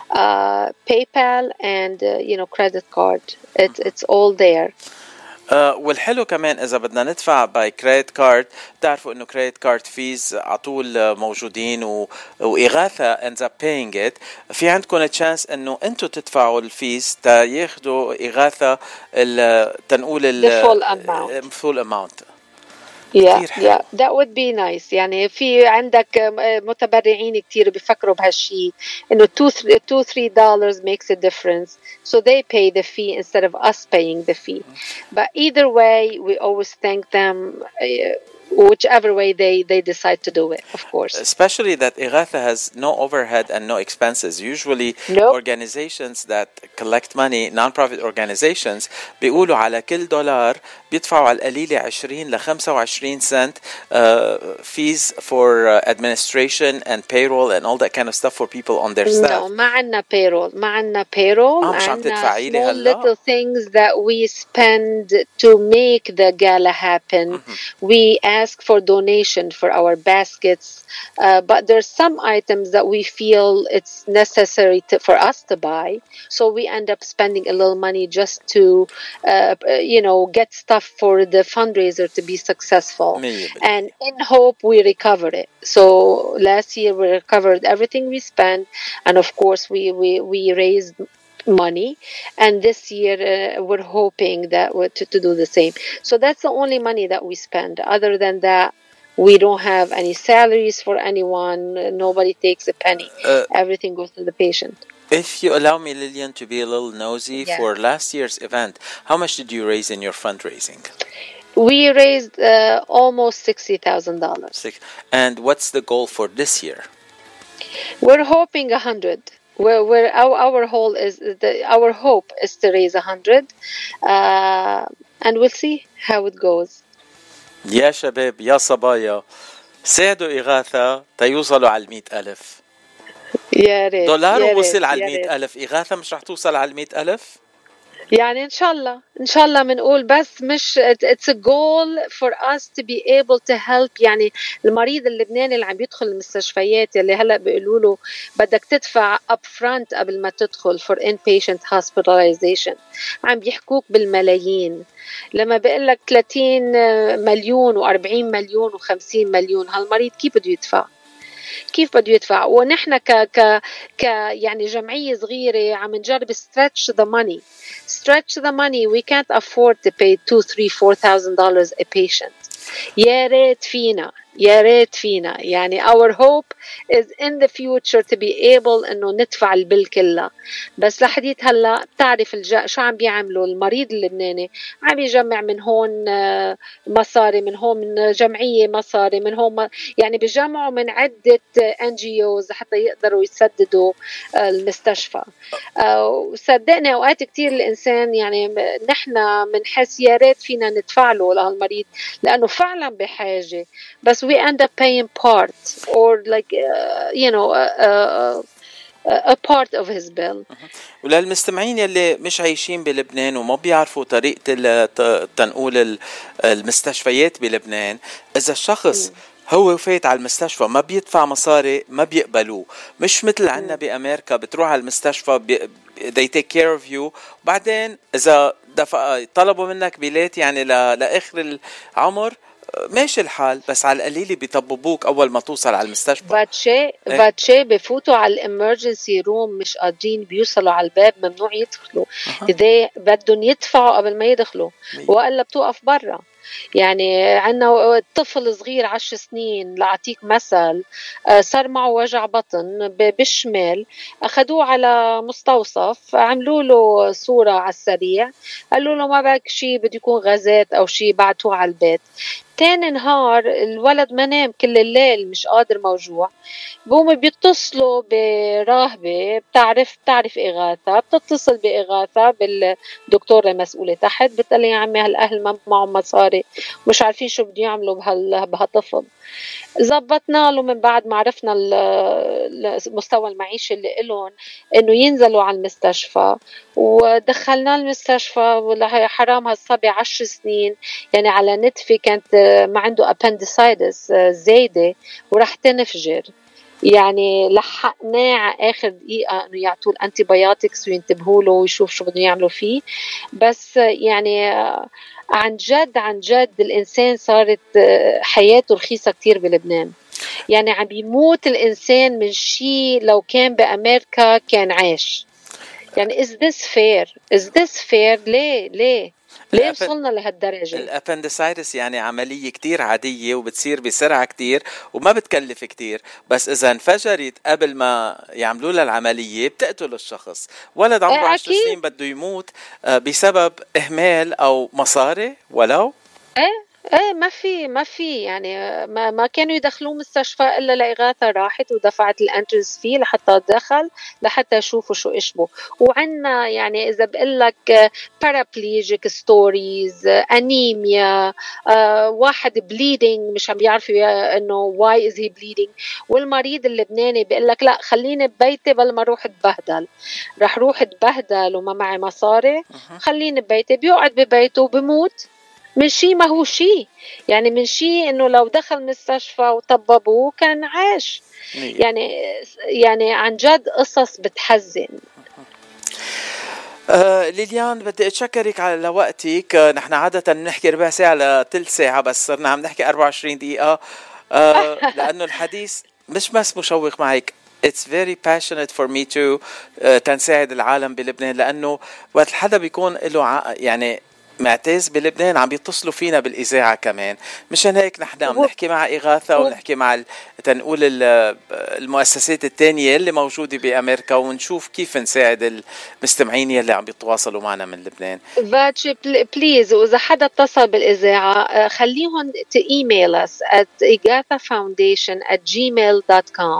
PayPal and credit card. It's all there. والحلو كمان إذا بدنا ندفع باي كريدت كارد تعرفوا إنه كريدت كارد فيز عطول موجودين وإغاثة ends up paying it. في عندكم تشانس إنه أنتوا تدفعوا الفيز تا ياخدوا إغاثة تنقول full amount. Yeah, that would be nice. يعني في عندك متبرعين كتير بيفكروا بهالشي إنه $2-3 makes a difference, so they pay the fee instead of us paying the fee. But either way, we always thank them. Whichever way they decide to do it, of course. Especially that Ighatha has no overhead and no expenses. Usually organizations that collect money, non-profit organizations, بيقولوا على كل $1 بيدفعوا على القليلة 20 ل 25 cent fees for administration and payroll and all that kind of stuff for people on their staff. No, ما عنا payroll. مش عم تدفعي لي هلا. Small little things that we spend to make the gala happen. We ask for donation for our baskets, but there's some items that we feel it's necessary for us to buy, so we end up spending a little money just to get stuff for the fundraiser to be successful. And in hope we recover it. So last year we recovered everything we spent, and of course we raised money, and this year we're hoping that to do the same. So that's the only money that we spend. Other than that, we don't have any salaries for anyone. Nobody takes a penny. Everything goes to the patient. If you allow me, Lillian, to be a little nosy, for last year's event, how much did you raise in your fundraising? We raised almost $60,000. And what's the goal for this year? We're hoping 100. Where our hope is to raise 100, and we'll see how it goes. يا شباب يا صبايا ساعدوا إغاثة تيوصلوا على 100,000. يا ريت $1 وصل على 100,000. إغاثة مش رح توصل على 100,000. يعني إن شاء الله منقول، بس مش it's a goal for us to be able to help. يعني المريض اللبناني اللي عم يدخل المستشفيات اللي هلأ بيقولوا له بدك تدفع upfront قبل ما تدخل for inpatient hospitalization، عم بيحكوك بالملايين. لما بيقول لك 30 مليون و40 مليون و50 مليون، هالمريض كيف بده يدفع؟ ونحن يعني جمعية صغيرة عم نجرب stretch the money stretch the money. We can't afford to pay $2,000, $3,000, $4,000 a patient. يا ريت فينا يعني our hope is in the future to be able إنه ندفع البل كلها. بس لحديت هلا بتعرف شو عم بيعملوا المريض اللبناني، عم يجمع من هون مصاري، من هون من جمعية مصاري، من هون يعني بيجمعوا من عدة NGOs حتى يقدروا يسددوا المستشفى. وصدقني أوقات كتير الإنسان يعني نحن منحس يا ريت فينا ندفع له لهالمريض لأنه فعلا بحاجة، بس we end up paying part or like a part of his bill. وللمستمعين يلي مش عايشين بلبنان وما بيعرفوا طريقة تنقول المستشفيات بلبنان، إذا الشخص هو فايت على المستشفى ما بيدفع مصاري ما بيقبلوه. مش مثل عنا بأمريكا بتروح على المستشفى they take care of you، وبعدين إذا طلبوا منك بيلات يعني لآخر العمر ماشي الحال، بس على القليل بيطببوك أول ما توصل على المستشفى. فاتشي بفوتوا على الامرجنسي روم مش قادرين بيوصلوا على الباب، ممنوع يدخلوا إذا بدهم يدفعوا قبل ما يدخلوا، وإلا بتوقف برا. يعني عنا طفل صغير 10 سنين لأعطيك مثل، صار معه وجع بطن بالشمال، أخدوه على مستوصف، عملوا له صورة على السريع، قالوا له ما بك شيء بده يكون غازات أو شيء، بعتوه على البيت. تاني نهار الولد ما نام كل الليل، مش قادر موجوع، بقوم بيتصلوا براهبة بتعرف إغاثة، بتتصل بإغاثة بالدكتورة المسؤولة تحت، بتقلي يا عمي هالأهل ما معهم مصاري مش عارفين شو بده يعملوا بهالطفل. زبطنا له من بعد ما عرفنا المستوى المعيشي اللي إلهم إنه ينزلوا على المستشفى، ودخلنا المستشفى. والله حرام هالصبي 10 سنين يعني على نتفة كانت ما عنده appendicitis زايدة ورح تنفجر. يعني لحقناه على آخر دقيقة إنه يعطوه الأنتيبيوتكس وينتبهوا له ويشوف شو بدهم يعملوا فيه. بس يعني عن جد الإنسان صارت حياته رخيصة كتير بلبنان. يعني عم بيموت الإنسان من شيء لو كان بأمريكا كان عايش. يعني is this fair؟ ليه وصلنا لهالدرجة؟ الابندسايتس يعني عملية كتير عادية وبتصير بسرعة كتير وما بتكلف كتير، بس إذا انفجرت قبل ما يعملوا لها العملية بتقتل الشخص. ولد عمره 10 سنين بده يموت بسبب إهمال أو مصاري ولو ما في يعني ما كانوا يدخلوه مستشفى إلا لإغاثة راحت ودفعت الانترنس فيه لحتى دخل لحتى يشوفوا شو إشبه. وعنا يعني إذا بقلك paraplegic stories، أنيميا، واحد bleeding مش عم بيعرفوا إنه why is he bleeding، والمريض اللبناني بقلك لا خليني ببيتي بل ما روح اتبهدل، رح روح اتبهدل وما معي مصاري، خليني ببيتي. بيقعد ببيته وبموت من شيء ما هو شيء، يعني من شيء إنه لو دخل مستشفى وطببوه كان عاش. يعني عن جد قصص بتحزن. ليليان بدي أتشكرك على وقتك. نحن عادة نحكي ربع ساعة لثلث ساعة بس صرنا عم نحكي 24 دقيقة لأنه الحديث مش بس مشوق معك. It's very passionate for me to تنساعد العالم بلبنان، لأنه وقت الحدا بيكون له يعني معتز بلبنان عم بيتصلوا فينا بالإذاعة كمان. مشان هيك نحن عم نحكي مع إغاثة ونحكي مع تنقول المؤسسات التانية اللي موجودة بأمريكا ونشوف كيف نساعد المستمعين يلي عم بيتواصلوا معنا من لبنان. فاتشي بليز، وإذا حدا اتصل بالإذاعة خليهم تإيميل us at igathafoundation@gmail.com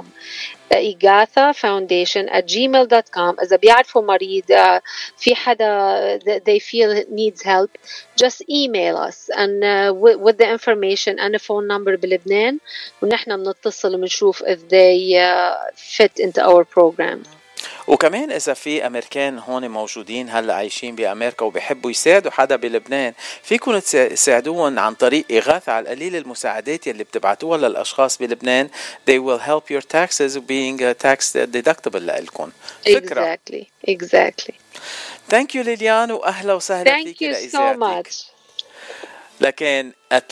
igathafoundation@gmail.com. إذا بيعرفوا مريض في حدا they feel needs help, just email us and with the information and a phone number بلبنان، ونحن بنتصل ونشوف if they fit into our program. وكمان إذا في أمريكان هون موجودين هلا عايشين بأمريكا وبيحبوا يساعدوا حدا بلبنان، فيكم تساعدوهم عن طريق إغاثة. على القليل المساعدات يلي بتبعتوها للأشخاص بلبنان they will help your taxes being tax deductible لإلكم. فكرة. Exactly. Thank you ليليان وأهلا وسهلا فيك لإذاعتك. Thank you so much. لكن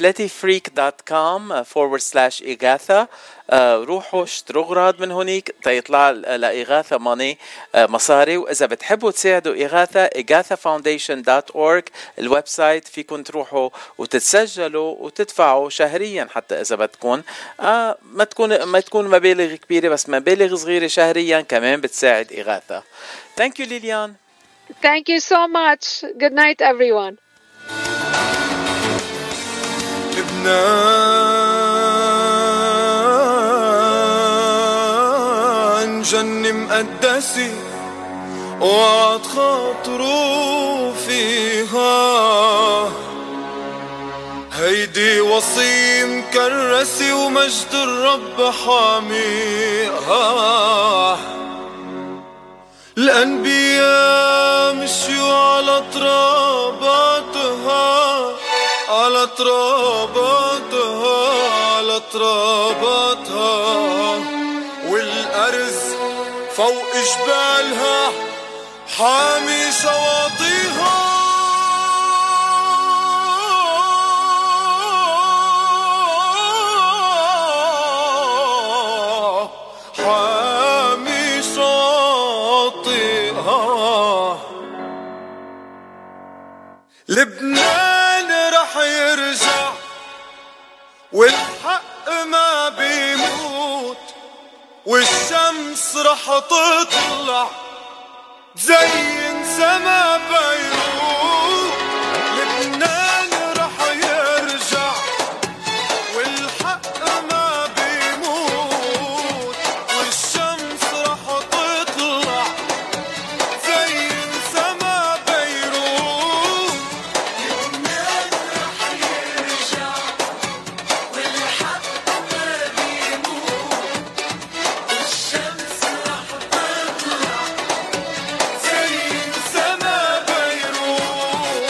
athleticfreak.com/إغاثة روحوا اشتروا اغراض من هونيك تيطلع لإغاثة ماني مصاري. وإذا بتحبوا تساعدوا إغاثة foundation.org الويب سايت فيكم تروحوا وتتسجلوا وتدفعوا شهريا حتى إذا بدكم ما تكون مبالغ كبيرة بس مبالغ صغيرة شهريا كمان بتساعد إغاثة. Thank you Lilian. Thank you so much. Good night everyone. لبنان جنة مقدسة وعد خاطروا فيها، هيدي وصية مكرسة ومجد الرب حاميها. الأنبياء مشيوا على تراباتها على تراباتها على تراباتها، والأرز فوق جبالها حامي شواطئها. حامي شواطئها. لبنان رح يرجع والحق ما بيموت، والشمس رح تطلع تزين سما بيروت. لبنان رح يرجع والحق ما بيموت، والشمس رح تطلع تزين سما بيروت. لبنان رح يرجع والحق ما بيموت، والشمس رح تطلع تزين سما بيروت.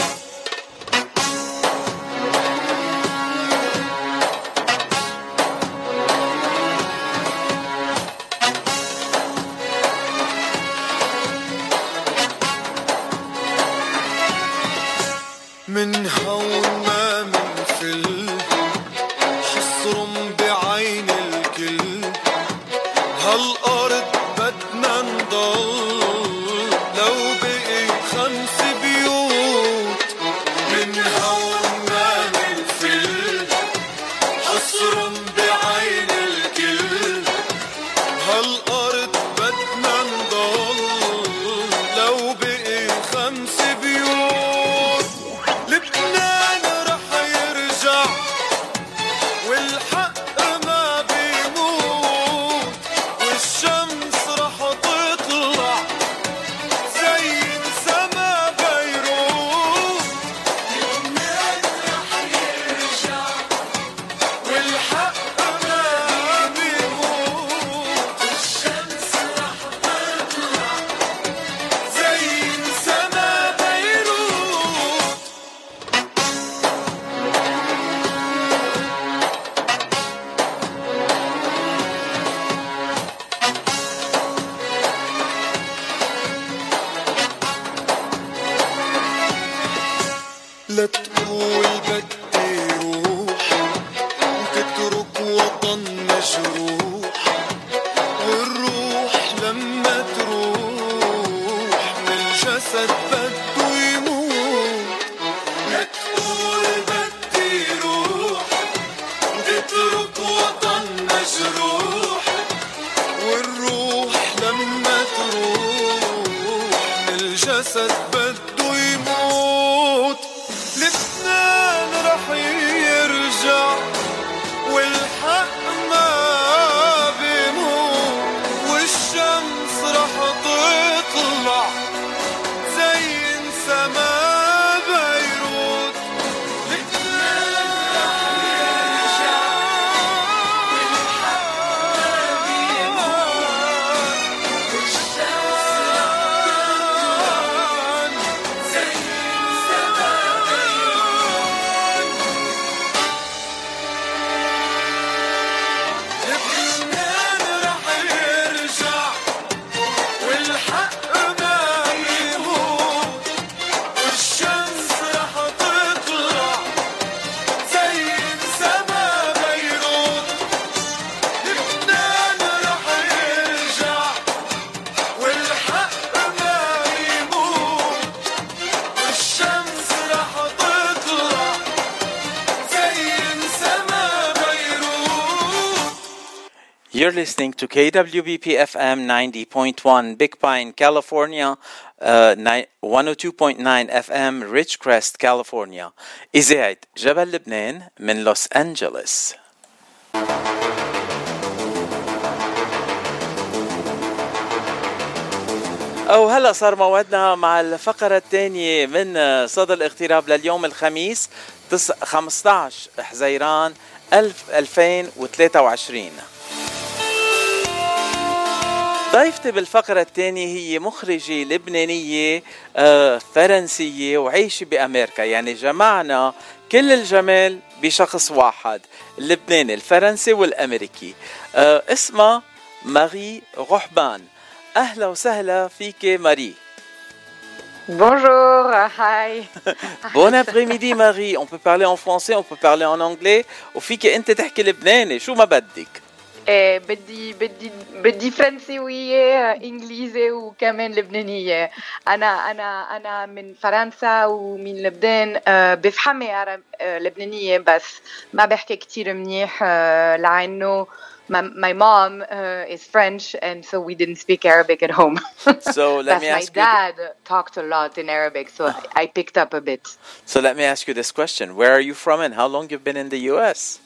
من هون ما منفل حصرم بعين الكل، هالأرض بدنا نضل لو بقي 5 بيوت. من هون ما منفل حصرم بعين الكل، هالأرض بدنا نضل لو بقي 5 بيوت. لبنان رح يرجع والحق ما بيموت، والشمس رح تطلع تزين سما بيروت. لبنان رح يرجع والحق ما بيموت، والشمس رح تطلع تزين سما بيروت. لا تقول بدي روح وتترك وطن مجروح، والروح لما تروح من الجسد بده يموت. لا تقول بدي روح وتترك وطن مجروح، والروح لما تروح من الجسد بده يموت. لبنان You're listening to KWBP FM 90.1 Big Pine, California, 102.9 FM Ridgecrest, California. إذاعة جبل لبنان من لوس أنجلوس. أو هلأ صار موعدنا مع الفقرة الثانية من صدى الاغتراب لليوم الخميس 15 حزيران 2023. ضيفتي بالفقرة الثانية هي مخرجة لبنانية فرنسية وعايشة بأمريكا، يعني جمعنا كل الجمال بشخص واحد، اللبناني الفرنسي والأمريكي. اسمها ماري روحبان. أهلا وسهلا فيك ماري. Bonjour, hi. Bon après-midi Marie. On peut parler en français, on peut parler en anglais. وفيك أنت تحكي لبناني شو ما بدك. بدي فرنسية إنجليزي وكمان لبنانية. أنا من فرنسا ومن لبنان. بفهمي لبنانية بس ما بحكي كتير منيح لأنه my mom is French, and so we didn't speak Arabic at home. So let me ask you. My dad talked a lot in Arabic, so I picked up a bit. So let me ask you this question: where are you from, and how long you've been in the U.S.?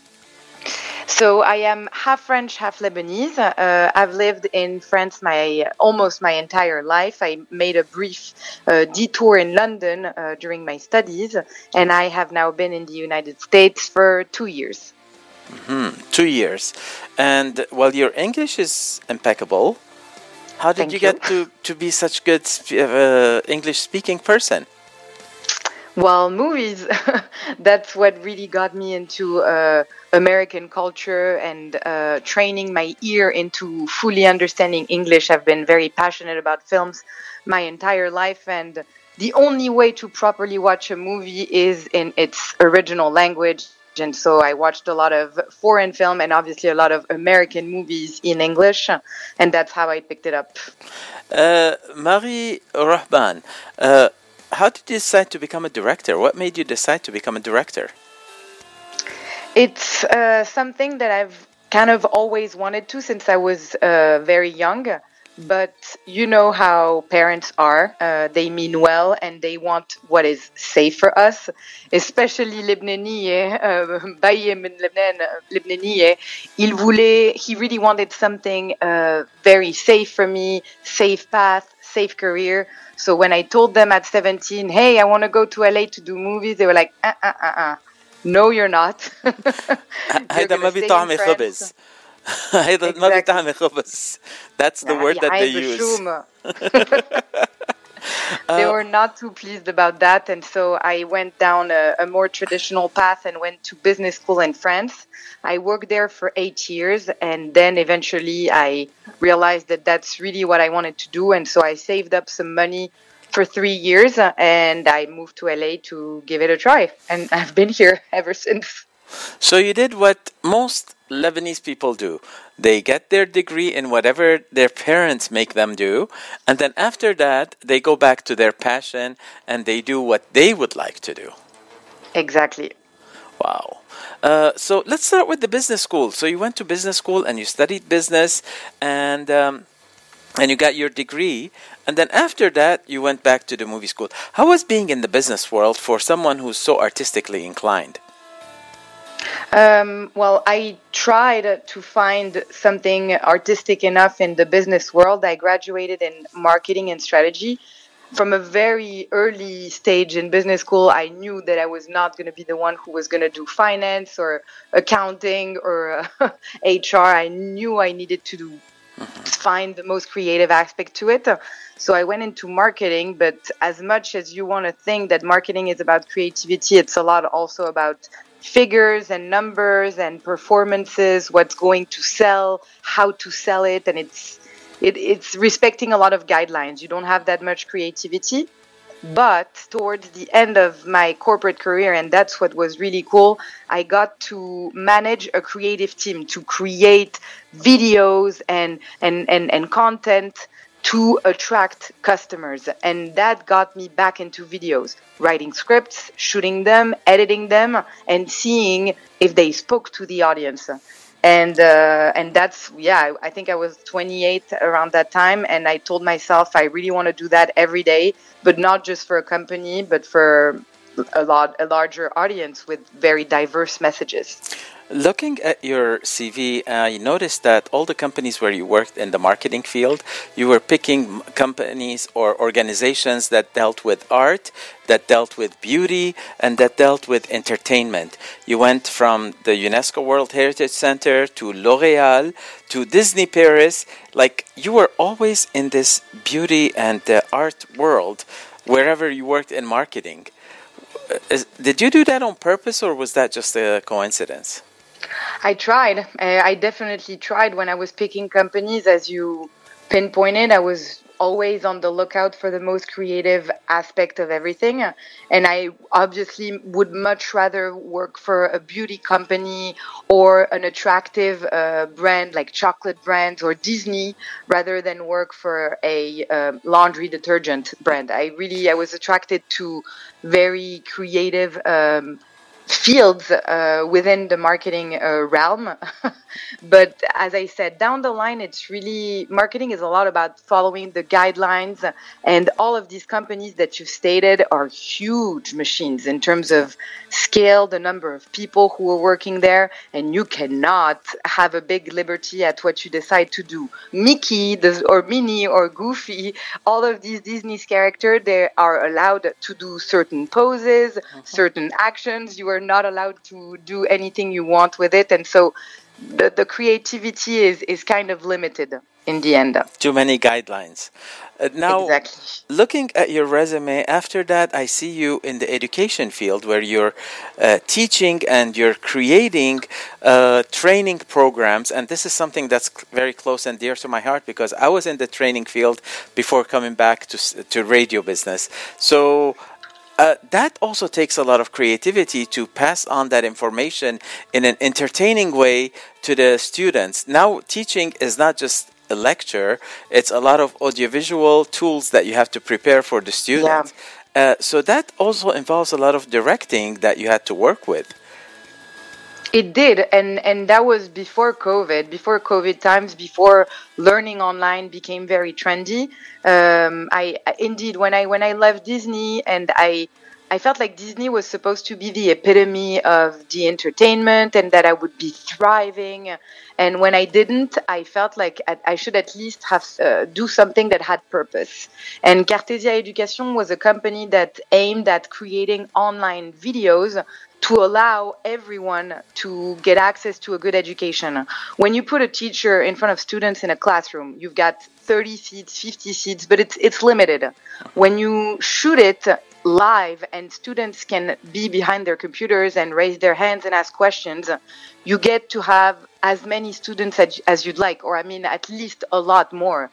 So I am half French, half Lebanese. I've lived in France almost my entire life. I made a brief detour in London during my studies, and I have now been in the United States for 2 years. 2 years. And well, your English is impeccable. How did you get to be such good English speaking person? Well, movies. That's what really got me into American culture and training my ear into fully understanding English. I've been very passionate about films my entire life, and the only way to properly watch a movie is in its original language. And so I watched a lot of foreign film and obviously a lot of American movies in English, and that's how I picked it up. Marie Rohban, how did you decide to become a director? What made you decide to become a director? It's something that I've kind of always wanted to since I was very young. But you know how parents are. They mean well and they want what is safe for us. Especially Baye min Lebanese, he really wanted something very safe for me, safe path, safe career. So when I told them at 17, hey, I want to go to LA to do movies, they were like, no, you're not. هيدا ما بيطعمي خبز. هيدا ما بيطعمي خبز. That's the word that they use. They were not too pleased about that, and so I went down a more traditional path and went to business school in France. I worked there for 8 years, and then eventually I realized that that's really what I wanted to do, and so I saved up some money for 3 years, and I moved to LA to give it a try, and I've been here ever since. So you did what most Lebanese people do. They get their degree in whatever their parents make them do, and then after that, they go back to their passion and they do what they would like to do. Exactly. Wow. So let's start with the business school. So you went to business school and you studied business, and you got your degree, and then after that, you went back to the movie school. How was being in the business world for someone who's so artistically inclined? Well, I tried to find something artistic enough in the business world. I graduated in marketing and strategy. From a very early stage in business school, I knew that I was not going to be the one who was going to do finance or accounting or HR. I knew I needed to find the most creative aspect to it. So I went into marketing, but as much as you want to think that marketing is about creativity, it's a lot also about figures and numbers and performances, what's going to sell, how to sell it, and it's respecting a lot of guidelines. You don't have that much creativity. But towards the end of my corporate career, and that's what was really cool, I got to manage a creative team to create videos and content to attract customers. And that got me back into videos, writing scripts, shooting them, editing them, and seeing if they spoke to the audience. And that's, I think I was 28 around that time, and I told myself I really want to do that every day, but not just for a company, but for a larger audience with very diverse messages. Looking at your CV, you noticed that all the companies where you worked in the marketing field, you were picking companies or organizations that dealt with art, that dealt with beauty, and that dealt with entertainment. You went from the UNESCO World Heritage Center to L'Oréal to Disney Paris. Like, you were always in this beauty and art world wherever you worked in marketing. Did you do that on purpose, or was that just a coincidence? I tried. I definitely tried when I was picking companies. As you pinpointed, I was always on the lookout for the most creative aspect of everything. And I obviously would much rather work for a beauty company or an attractive brand like chocolate brands or Disney rather than work for a laundry detergent brand. I was attracted to very creative fields within the marketing realm. But as I said, down the line, it's really, marketing is a lot about following the guidelines, and all of these companies that you've stated are huge machines in terms of scale, the number of people who are working there, and you cannot have a big liberty at what you decide to do. Mickey or Minnie or Goofy, all of these Disney's characters, they are allowed to do certain poses, certain actions. You are not allowed to do anything you want with it, and so the creativity is kind of limited in the end. Too many guidelines. Now, exactly. Looking at your resume, after that, I see you in the education field where you're teaching and you're creating training programs. And this is something that's very close and dear to my heart because I was in the training field before coming back to radio business. So that also takes a lot of creativity to pass on that information in an entertaining way to the students. Now, teaching is not just a lecture, it's a lot of audiovisual tools that you have to prepare for the students. Yeah. So that also involves a lot of directing that you had to work with. It did, and that was before COVID times, before learning online became very trendy. Indeed, when I left Disney, and I felt like Disney was supposed to be the epitome of the entertainment and that I would be thriving. And when I didn't, I felt like I should at least have do something that had purpose. And Cartesia Education was a company that aimed at creating online videos to allow everyone to get access to a good education. When you put a teacher in front of students in a classroom, you've got 30 seats, 50 seats, but it's limited. When you shoot it live and students can be behind their computers and raise their hands and ask questions, you get to have as many students as you'd like, or I mean, at least a lot more.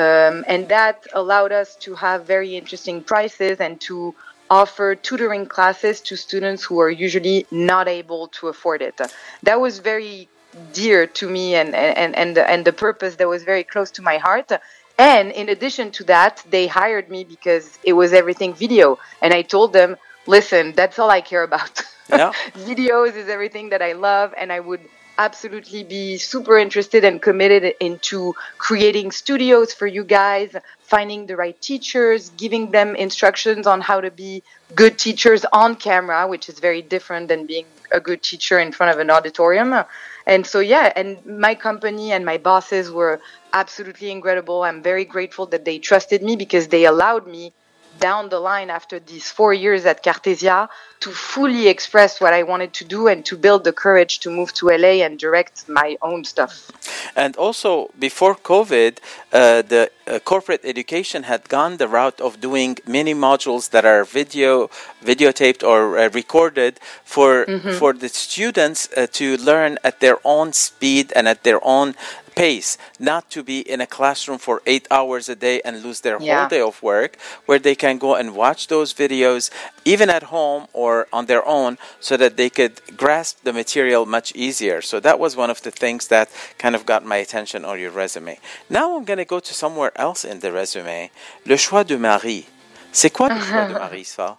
And that allowed us to have very interesting prices and to offer tutoring classes to students who are usually not able to afford it. That was very dear to me, and the purpose that was very close to my heart. And in addition to that, they hired me because it was everything video. And I told them, listen, that's all I care about. Yeah. Videos is everything that I love, and I would absolutely be super interested and committed into creating studios for you guys, finding the right teachers, giving them instructions on how to be good teachers on camera, which is very different than being a good teacher in front of an auditorium. And so, yeah, and my company and my bosses were absolutely incredible. I'm very grateful that they trusted me because they allowed me down the line after these 4 years at Cartesia to fully express what I wanted to do and to build the courage to move to LA and direct my own stuff. And also, before COVID, the corporate education had gone the route of doing mini modules that are videotaped or recorded for the students to learn at their own speed and at their own pace, not to be in a classroom for 8 hours a day and lose their whole day of work, where they can go and watch those videos even at home or on their own so that they could grasp the material much easier. So that was one of the things that kind of got my attention on your resume. Now I'm going to go to somewhere else in the resume. Le choix de Marie. C'est quoi le choix de Marie, ça?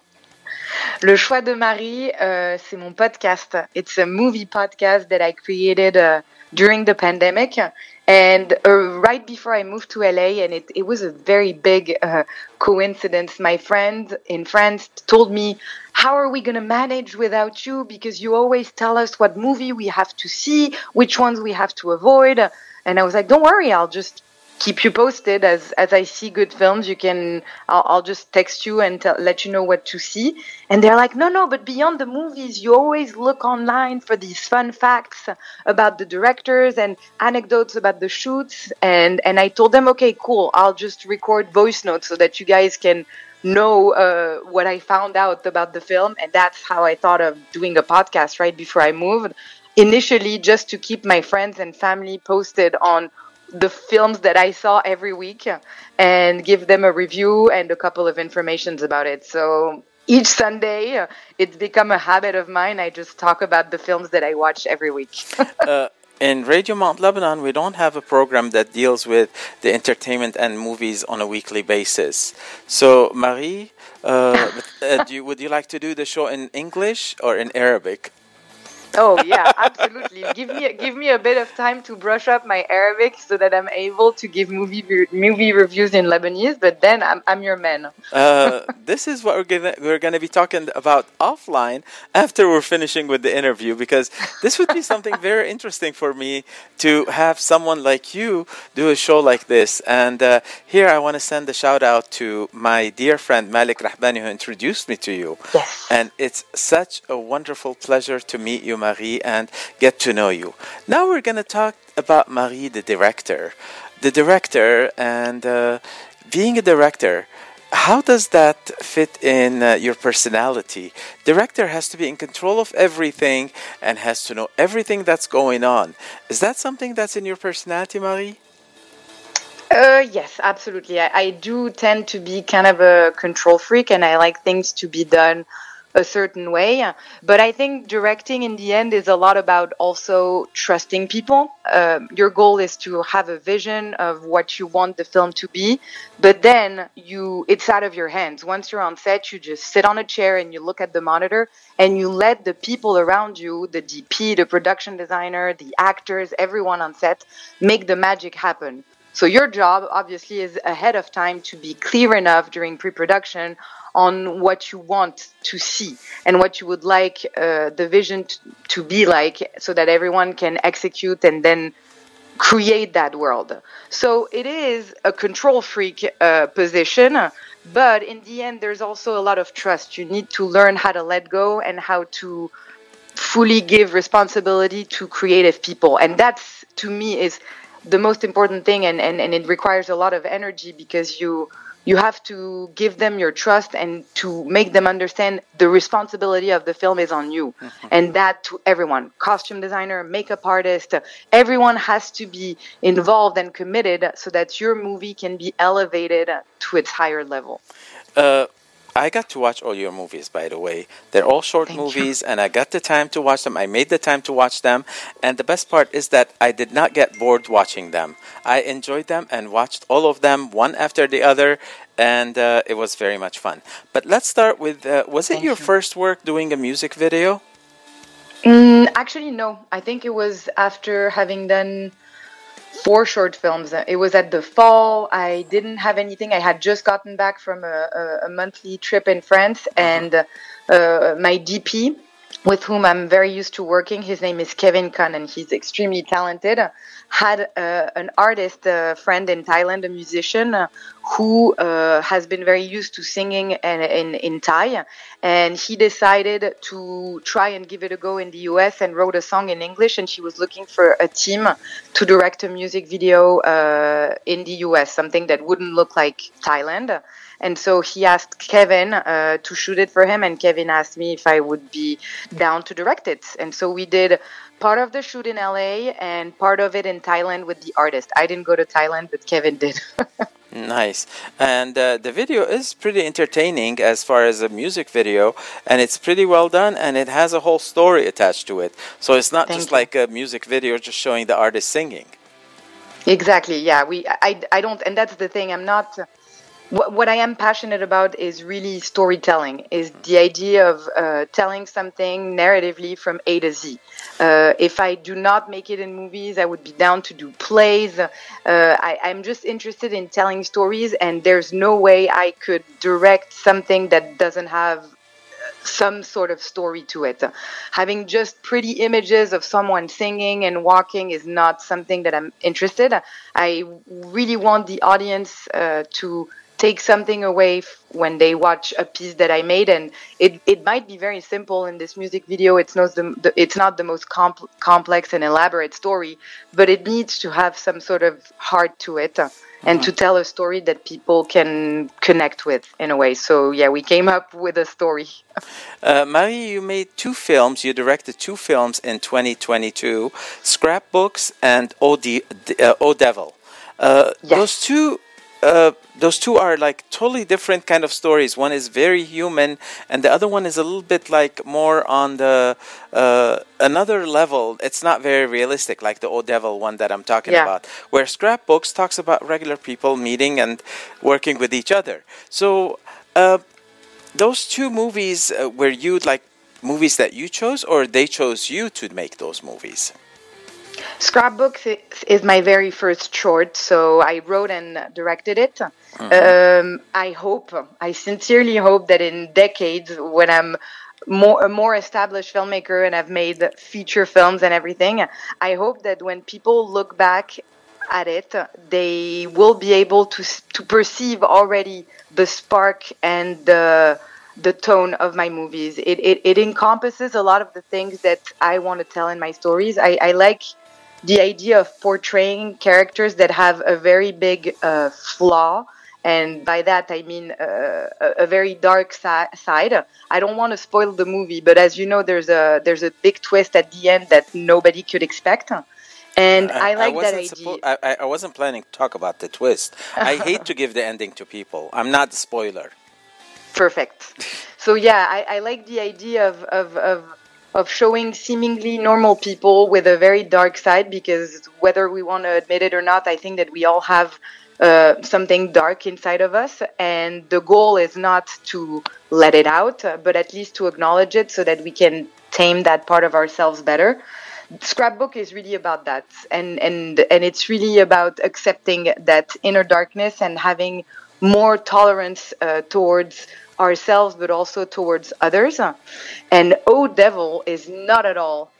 Le choix de Marie, c'est mon podcast. It's a movie podcast that I created during the pandemic. And right before I moved to LA, and it was a very big coincidence. My friend in France told me, how are we going to manage without you? Because you always tell us what movie we have to see, which ones we have to avoid. And I was like, don't worry, I'll just keep you posted as I see good films. I'll just text you and let you know what to see. And they're like, no, but beyond the movies, you always look online for these fun facts about the directors and anecdotes about the shoots. And I told them, okay, cool, I'll just record voice notes so that you guys can know what I found out about the film. And that's how I thought of doing a podcast right before I moved. Initially, just to keep my friends and family posted on the films that I saw every week and give them a review and a couple of informations about it. So each Sunday, it's become a habit of mine. I just talk about the films that I watch every week. In Radio Mount Lebanon, we don't have a program that deals with the entertainment and movies on a weekly basis. So, Marie, would you like to do the show in English or in Arabic? Oh yeah, absolutely. Give me a bit of time to brush up my Arabic so that I'm able to give movie reviews in Lebanese. But then I'm your man. This is what we're gonna be talking about offline after we're finishing with the interview, because this would be something very interesting for me to have someone like you do a show like this. And here I want to send a shout out to my dear friend Malik Rahbani, who introduced me to you. Yes. And it's such a wonderful pleasure to meet you, Marie, and get to know you. Now we're going to talk about Marie, the director. The director and being a director, how does that fit in your personality? Director has to be in control of everything and has to know everything that's going on. Is that something that's in your personality, Marie? Yes, absolutely. I do tend to be kind of a control freak, and I like things to be done a certain way. But I think directing in the end is a lot about also trusting people. Your goal is to have a vision of what you want the film to be, but then it's out of your hands. Once you're on set, you just sit on a chair and you look at the monitor and you let the people around you, the DP, the production designer, the actors, everyone on set, make the magic happen. So your job obviously is ahead of time to be clear enough during pre-production on what you want to see and what you would like the vision to be like, so that everyone can execute and then create that world. So it is a control freak position, but in the end there's also a lot of trust. You need to learn how to let go and how to fully give responsibility to creative people. And that's, to me, is the most important thing, and it requires a lot of energy, because you have to give them your trust and to make them understand the responsibility of the film is on you. Mm-hmm. And that to everyone, costume designer, makeup artist, everyone has to be involved and committed so that your movie can be elevated to its higher level. I got to watch all your movies, by the way. They're all short movies, and I got the time to watch them. I made the time to watch them. And the best part is that I did not get bored watching them. I enjoyed them and watched all of them, one after the other, and it was very much fun. But let's start with, was it your first work doing a music video? Actually, no. I think it was after having done 4 short films. It was at the fall. I didn't have anything. I had just gotten back from a monthly trip in France, and my DP, with whom I'm very used to working, his name is Kevin Khan, and he's extremely talented, had an artist friend in Thailand, a musician, who has been very used to singing in Thai, and he decided to try and give it a go in the US and wrote a song in English, and she was looking for a team to direct a music video in the US, something that wouldn't look like Thailand. And so he asked Kevin to shoot it for him, and Kevin asked me if I would be down to direct it. And so we did part of the shoot in LA and part of it in Thailand with the artist. I didn't go to Thailand, but Kevin did. Nice. And the video is pretty entertaining as far as a music video, and it's pretty well done, and it has a whole story attached to it. So it's not just like a music video just showing the artist singing. Exactly, yeah. I don't, and that's the thing, I'm not what I am passionate about is really storytelling, is the idea of telling something narratively from A to Z. If I do not make it in movies, I would be down to do plays. I'm just interested in telling stories, and there's no way I could direct something that doesn't have some sort of story to it. Having just pretty images of someone singing and walking is not something that I'm interested. I really want the audience to take something away when they watch a piece that I made, and it might be very simple in this music video. It's not the most complex and elaborate story, but it needs to have some sort of heart to it. And to tell a story that people can connect with in a way. So, yeah, we came up with a story. Marie, you made 2 films. You directed 2 films in 2022, Scrapbooks and O Devil. Yes. Those two are like totally different kind of stories. One is very human, and the other one is a little bit like more on the another level. It's not very realistic, like the O Devil one that I'm talking about, where Scrapbooks talks about regular people meeting and working with each other. So those 2 movies, were you like movies that you chose, or they chose you to make those movies? Scrapbooks is my very first short, so I wrote and directed it. I sincerely hope that in decades, when I'm a more established filmmaker and I've made feature films and everything, I hope that when people look back at it, they will be able to perceive already the spark and the tone of my movies. It encompasses a lot of the things that I want to tell in my stories. I like the idea of portraying characters that have a very big flaw, and by that I mean a very dark side. I don't want to spoil the movie, but as you know, there's a big twist at the end that nobody could expect. And I like that idea. I wasn't planning to talk about the twist. I hate to give the ending to people. I'm not the spoiler. Perfect. So yeah, I like the idea of showing seemingly normal people with a very dark side, because whether we want to admit it or not, I think that we all have something dark inside of us, and the goal is not to let it out, but at least to acknowledge it so that we can tame that part of ourselves better. Scrapbook is really about that, and it's really about accepting that inner darkness and having more tolerance towards ourselves, but also towards others. And O Devil is not at all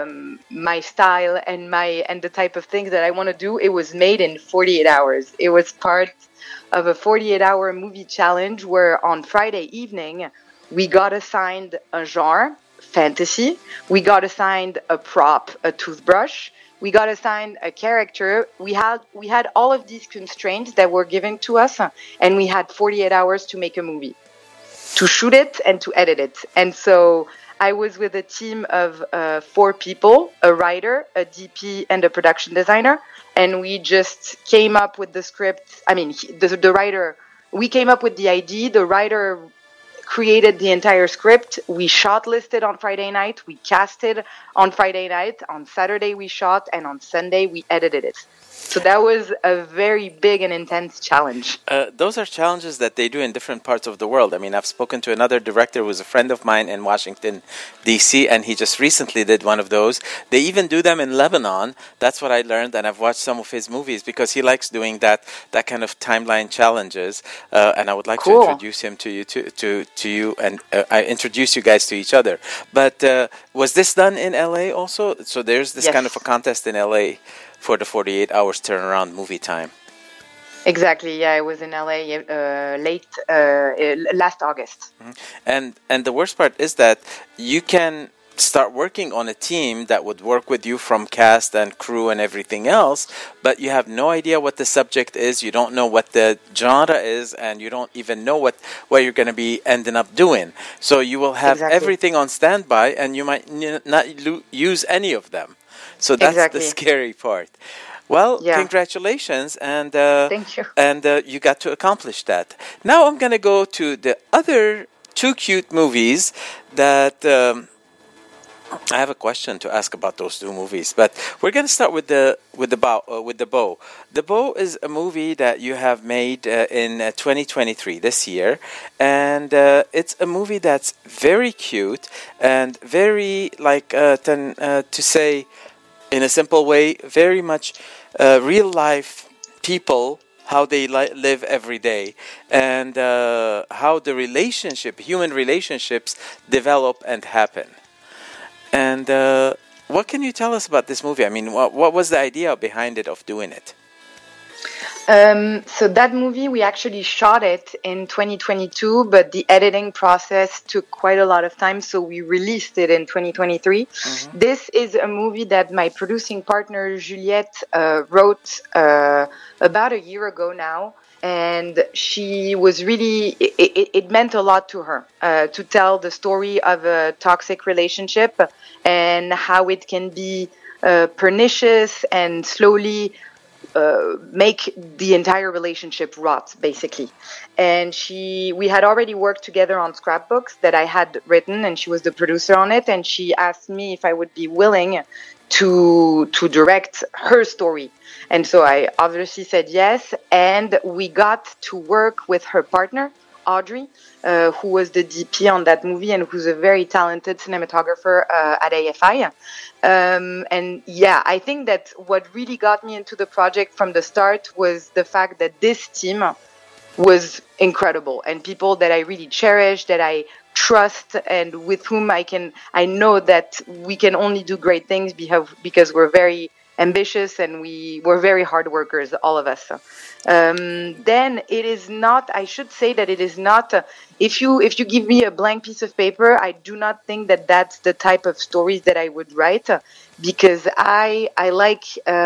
my style and the type of things that I want to do. It was made in 48 hours. It was part of a 48-hour movie challenge where on Friday evening we got assigned a genre, fantasy. We got assigned a prop, a toothbrush. We got assigned a character. We had all of these constraints that were given to us, and we had 48 hours to make a movie, to shoot it and to edit it. And so I was with a team of 4 people, a writer, a DP, and a production designer. And we just came up with the script. I mean, the writer, we came up with the idea. The writer created the entire script. We shortlisted on Friday night. We casted on Friday night. On Saturday we shot, and on Sunday we edited it. So that was a very big and intense challenge. Those are challenges that they do in different parts of the world. I mean, I've spoken to another director who was a friend of mine in Washington, D.C., and he just recently did one of those. They even do them in Lebanon. That's what I learned, and I've watched some of his movies because he likes doing that kind of timeline challenges. And I would like to introduce him to you, and I introduce you guys to each other. But was this done in L.A. also? So there's this kind of a contest in L.A. for the 48 hours turnaround movie time. Exactly. Yeah, I was in LA last August. Mm-hmm. And the worst part is that you can start working on a team that would work with you from cast and crew and everything else, but you have no idea what the subject is. You don't know what the genre is, and you don't even know what you're going to be ending up doing. So you will have everything on standby, and you might not use any of them. So that's the scary part. Well, congratulations, and thank you. And you got to accomplish that. Now I'm going to go to the other 2 cute movies that I have a question to ask about those two movies, but we're going to start with the Bow. The Bow is a movie that you have made in 2023 this year, and it's a movie that's very cute and very to say in a simple way, very much real life people, how they live every day, and how the human relationships develop and happen. And what can you tell us about this movie? I mean, what was the idea behind it, of doing it? So that movie, we actually shot it in 2022, but the editing process took quite a lot of time, so we released it in 2023. Mm-hmm. This is a movie that my producing partner, Juliette, wrote about a year ago now. And she was really, it meant a lot to her to tell the story of a toxic relationship and how it can be pernicious and slowly make the entire relationship rot, basically. And we had already worked together on scrapbooks that I had written, and she was the producer on it. And she asked me if I would be willing to direct her story. And so I obviously said yes, and we got to work with her partner, Audrey, who was the DP on that movie and who's a very talented cinematographer at AFI. And yeah, I think that what really got me into the project from the start was the fact that this team was incredible and people that I really cherish, that I trust, and with whom I know that we can only do great things because we're very ambitious and we're very hard workers, all of us. Then it is not, I should say that it is not, if you give me a blank piece of paper, I do not think that that's the type of stories that I would write, because I like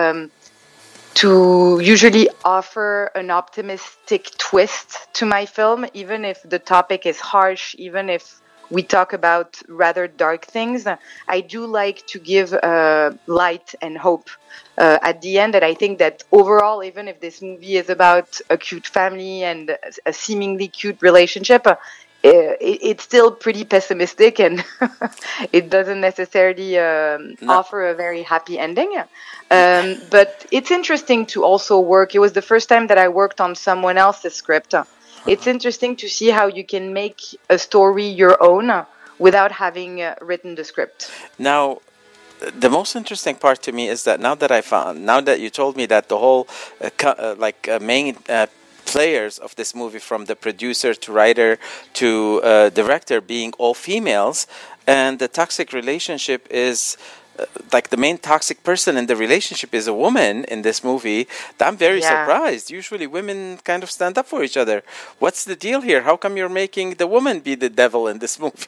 to usually offer an optimistic twist to my film, even if the topic is harsh, even if we talk about rather dark things. I do like to give light and hope at the end. And I think that overall, even if this movie is about a cute family and a seemingly cute relationship, it's still pretty pessimistic and it doesn't necessarily offer a very happy ending. But it's interesting to also work. It was the first time that I worked on someone else's script. It's interesting to see how you can make a story your own without having written the script. Now, the most interesting part to me is that now that you told me that the whole main players of this movie, from the producer to writer to director, being all females, and the toxic relationship is the main toxic person in the relationship is a woman in this movie. I'm very surprised. Usually women kind of stand up for each other. What's the deal here? How come you're making the woman be the devil in this movie?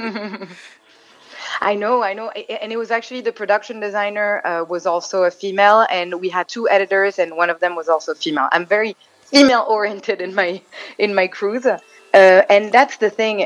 I know. And it was actually the production designer was also a female, and we had two editors, and one of them was also female. I'm very female oriented in my crews. And that's the thing.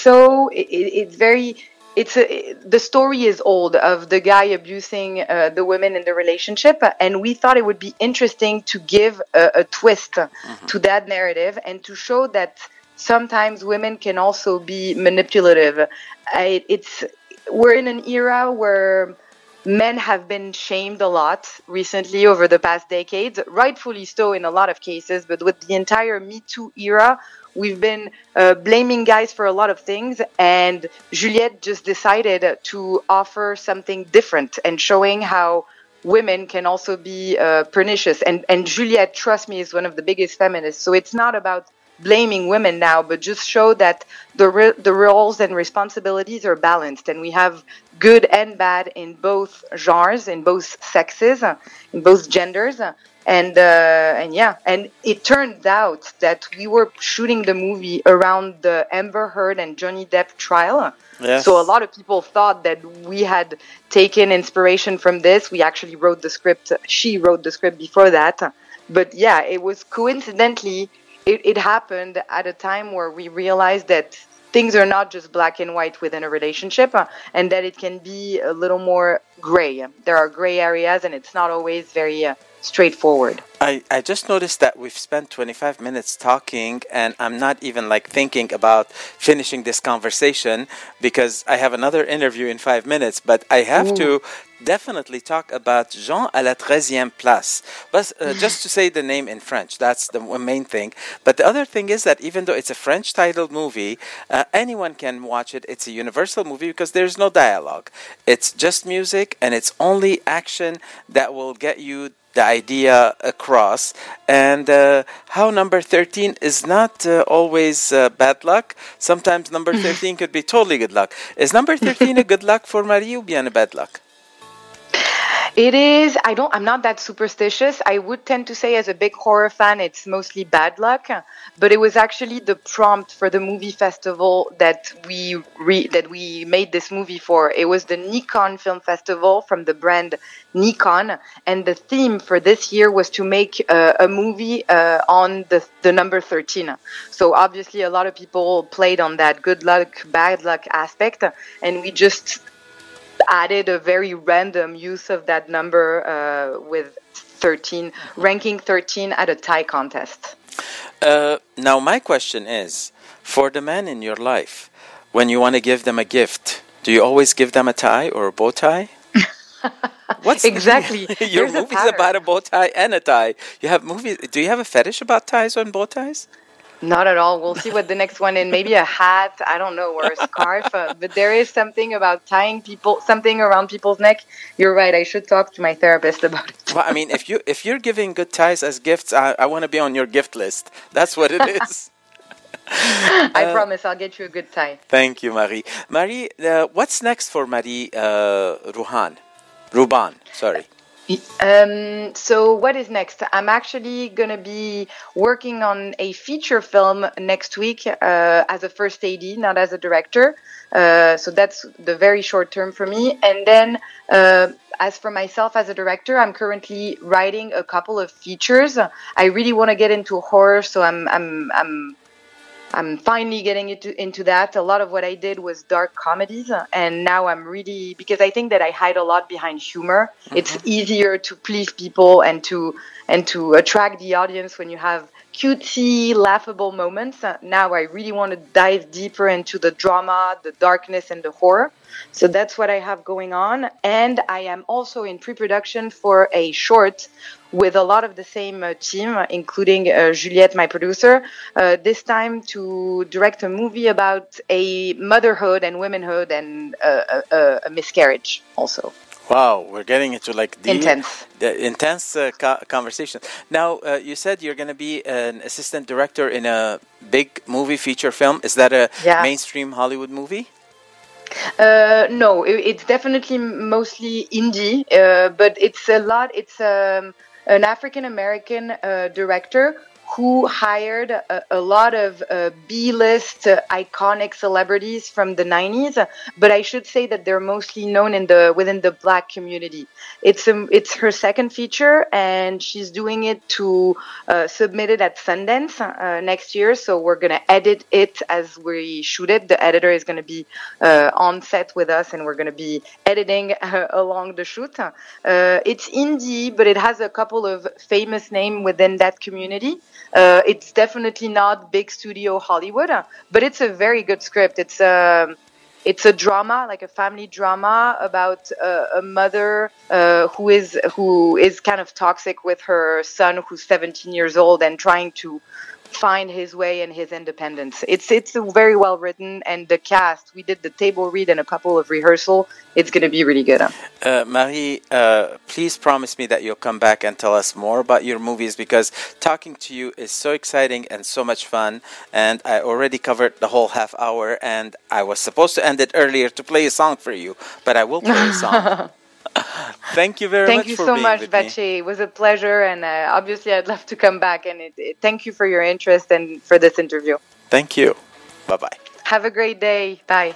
The story is old of the guy abusing the women in the relationship, and we thought it would be interesting to give a twist to that narrative and to show that sometimes women can also be manipulative. We're in an era where men have been shamed a lot recently over the past decades, rightfully so in a lot of cases, but with the entire Me Too era, we've been blaming guys for a lot of things, and Juliette just decided to offer something different and showing how women can also be pernicious. And Juliette, trust me, is one of the biggest feminists, so it's not about blaming women now, but just show that the roles and responsibilities are balanced, and we have good and bad in both genres, in both sexes, in both genders. And it turned out that we were shooting the movie around the Amber Heard and Johnny Depp trial. Yes. So a lot of people thought that we had taken inspiration from this. We actually wrote the script. She wrote the script before that. But yeah, it was coincidentally, it happened at a time where we realized that things are not just black and white within a relationship, and that it can be a little more gray. There are gray areas, and it's not always very straightforward. I just noticed that we've spent 25 minutes talking, and I'm not even like thinking about finishing this conversation because I have another interview in 5 minutes, but I have to definitely talk about Jean à la 13e place. But just to say the name in French, that's the main thing. But the other thing is that even though it's a French titled movie, anyone can watch it. It's a universal movie because there's no dialogue. It's just music, and it's only action that will get you the idea across, and how number 13 is not always bad luck. Sometimes number 13 could be totally good luck. Is number 13 a good luck for Marie ou bien a bad luck? It is. I'm not that superstitious. I would tend to say, as a big horror fan, it's mostly bad luck. But it was actually the prompt for the movie festival that we made this movie for. It was the Nikon Film Festival from the brand Nikon, and the theme for this year was to make a movie on the number 13. So obviously, a lot of people played on that good luck, bad luck aspect, and we just added a very random use of that number with 13, ranking 13 at a tie contest. Now my question is, for the man in your life, when you want to give them a gift, do you always give them a tie or a bow tie? What's exactly? Your movie's about a bow tie and a tie. You have movies. Do you have a fetish about ties and bow ties? Not at all. We'll see what the next one is. Maybe a hat, I don't know, or a scarf. But there is something about tying something around people's neck. You're right. I should talk to my therapist about it. Well, I mean, if you're giving good ties as gifts, I want to be on your gift list. That's what it is. I promise I'll get you a good tie. Thank you, Marie. Marie, what's next for Marie Ruban, sorry. So what is next? I'm actually going to be working on a feature film next week as a first AD, not as a director. So that's the very short term for me. And then as for myself as a director, I'm currently writing a couple of features. I really want to get into horror, so I'm finally getting into that. A lot of what I did was dark comedies, and now I'm really, because I think that I hide a lot behind humor. Mm-hmm. It's easier to please people and to attract the audience when you have cutesy, laughable moments. Now I really want to dive deeper into the drama, the darkness, and the horror. So that's what I have going on. And I am also in pre-production for a short with a lot of the same team, including Juliette, my producer, this time to direct a movie about a motherhood and womanhood and a miscarriage also. Wow, we're getting into like the intense conversation. Now, you said you're going to be an assistant director in a big movie feature film. Is that a mainstream Hollywood movie? No, it's definitely mostly indie, but it's an African-American director who hired a lot of B-list iconic celebrities from the 90s, but I should say that they're mostly known within the Black community. It's her second feature, and she's doing it to submit it at Sundance next year. So we're gonna edit it as we shoot it. The editor is gonna be on set with us, and we're gonna be editing along the shoot. It's indie, but it has a couple of famous names within that community. It's definitely not big studio Hollywood, but it's a very good script. It's a drama, like a family drama about a mother who is kind of toxic with her son, who's 17 years old, and trying to find his way and his independence. It's very well written, and the cast, we did the table read and a couple of rehearsal. It's going to be really good. Marie, please promise me that you'll come back and tell us more about your movies, because talking to you is so exciting and so much fun, and I already covered the whole half hour, and I was supposed to end it earlier to play a song for you, but I will play a song. Thank you very much. Thank you so much, Bache. It was a pleasure, and obviously I'd love to come back. And thank you for your interest and for this interview. Thank you. Bye-bye. Have a great day. Bye.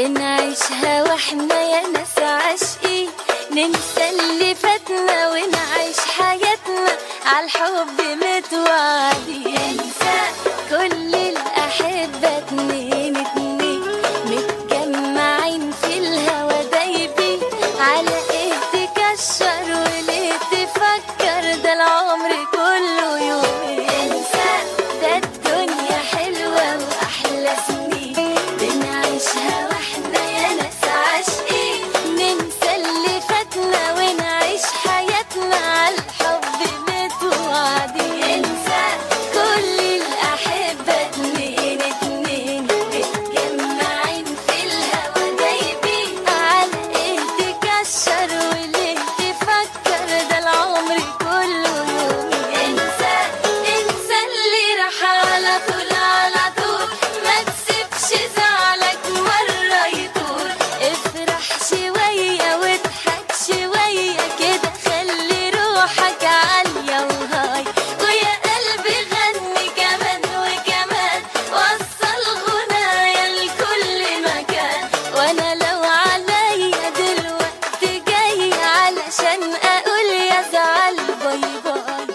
بنعيشها واحنا يا ناس عاشقين، ننسى اللي فاتنا ونعيش حياتنا عالحب متوعدين. انسى كل الأحبة اتنين اتنين متجمعين في الهوا دايبين، على ايه تكشر وليه تفكر، ده العمر كله يومين. انسى ده الدنيا حلوة وأحلى سنين، بنعيشها واحنا يا ناس عاشقين، ننسى اللي فاتنا ونعيش حياتنا عالحب متوعدين. انسى كل الأحبة اتنين اتنين متجمعين في الهوا دايبين، على ايه تكشر وليه تفكر، ده العمر كله يومين. انسى اللي راح على طول على طول، ما تسيبش زعلك مرة يطول، افرح شوية واضحك شوية كده، خلي روحك عالية وهاي، ويا قلبي غني كمان وكمان، وصل غنايا لكل مكان، وانا لو عليا دلوقتي جاي علشان اقول يا زعل باي باي.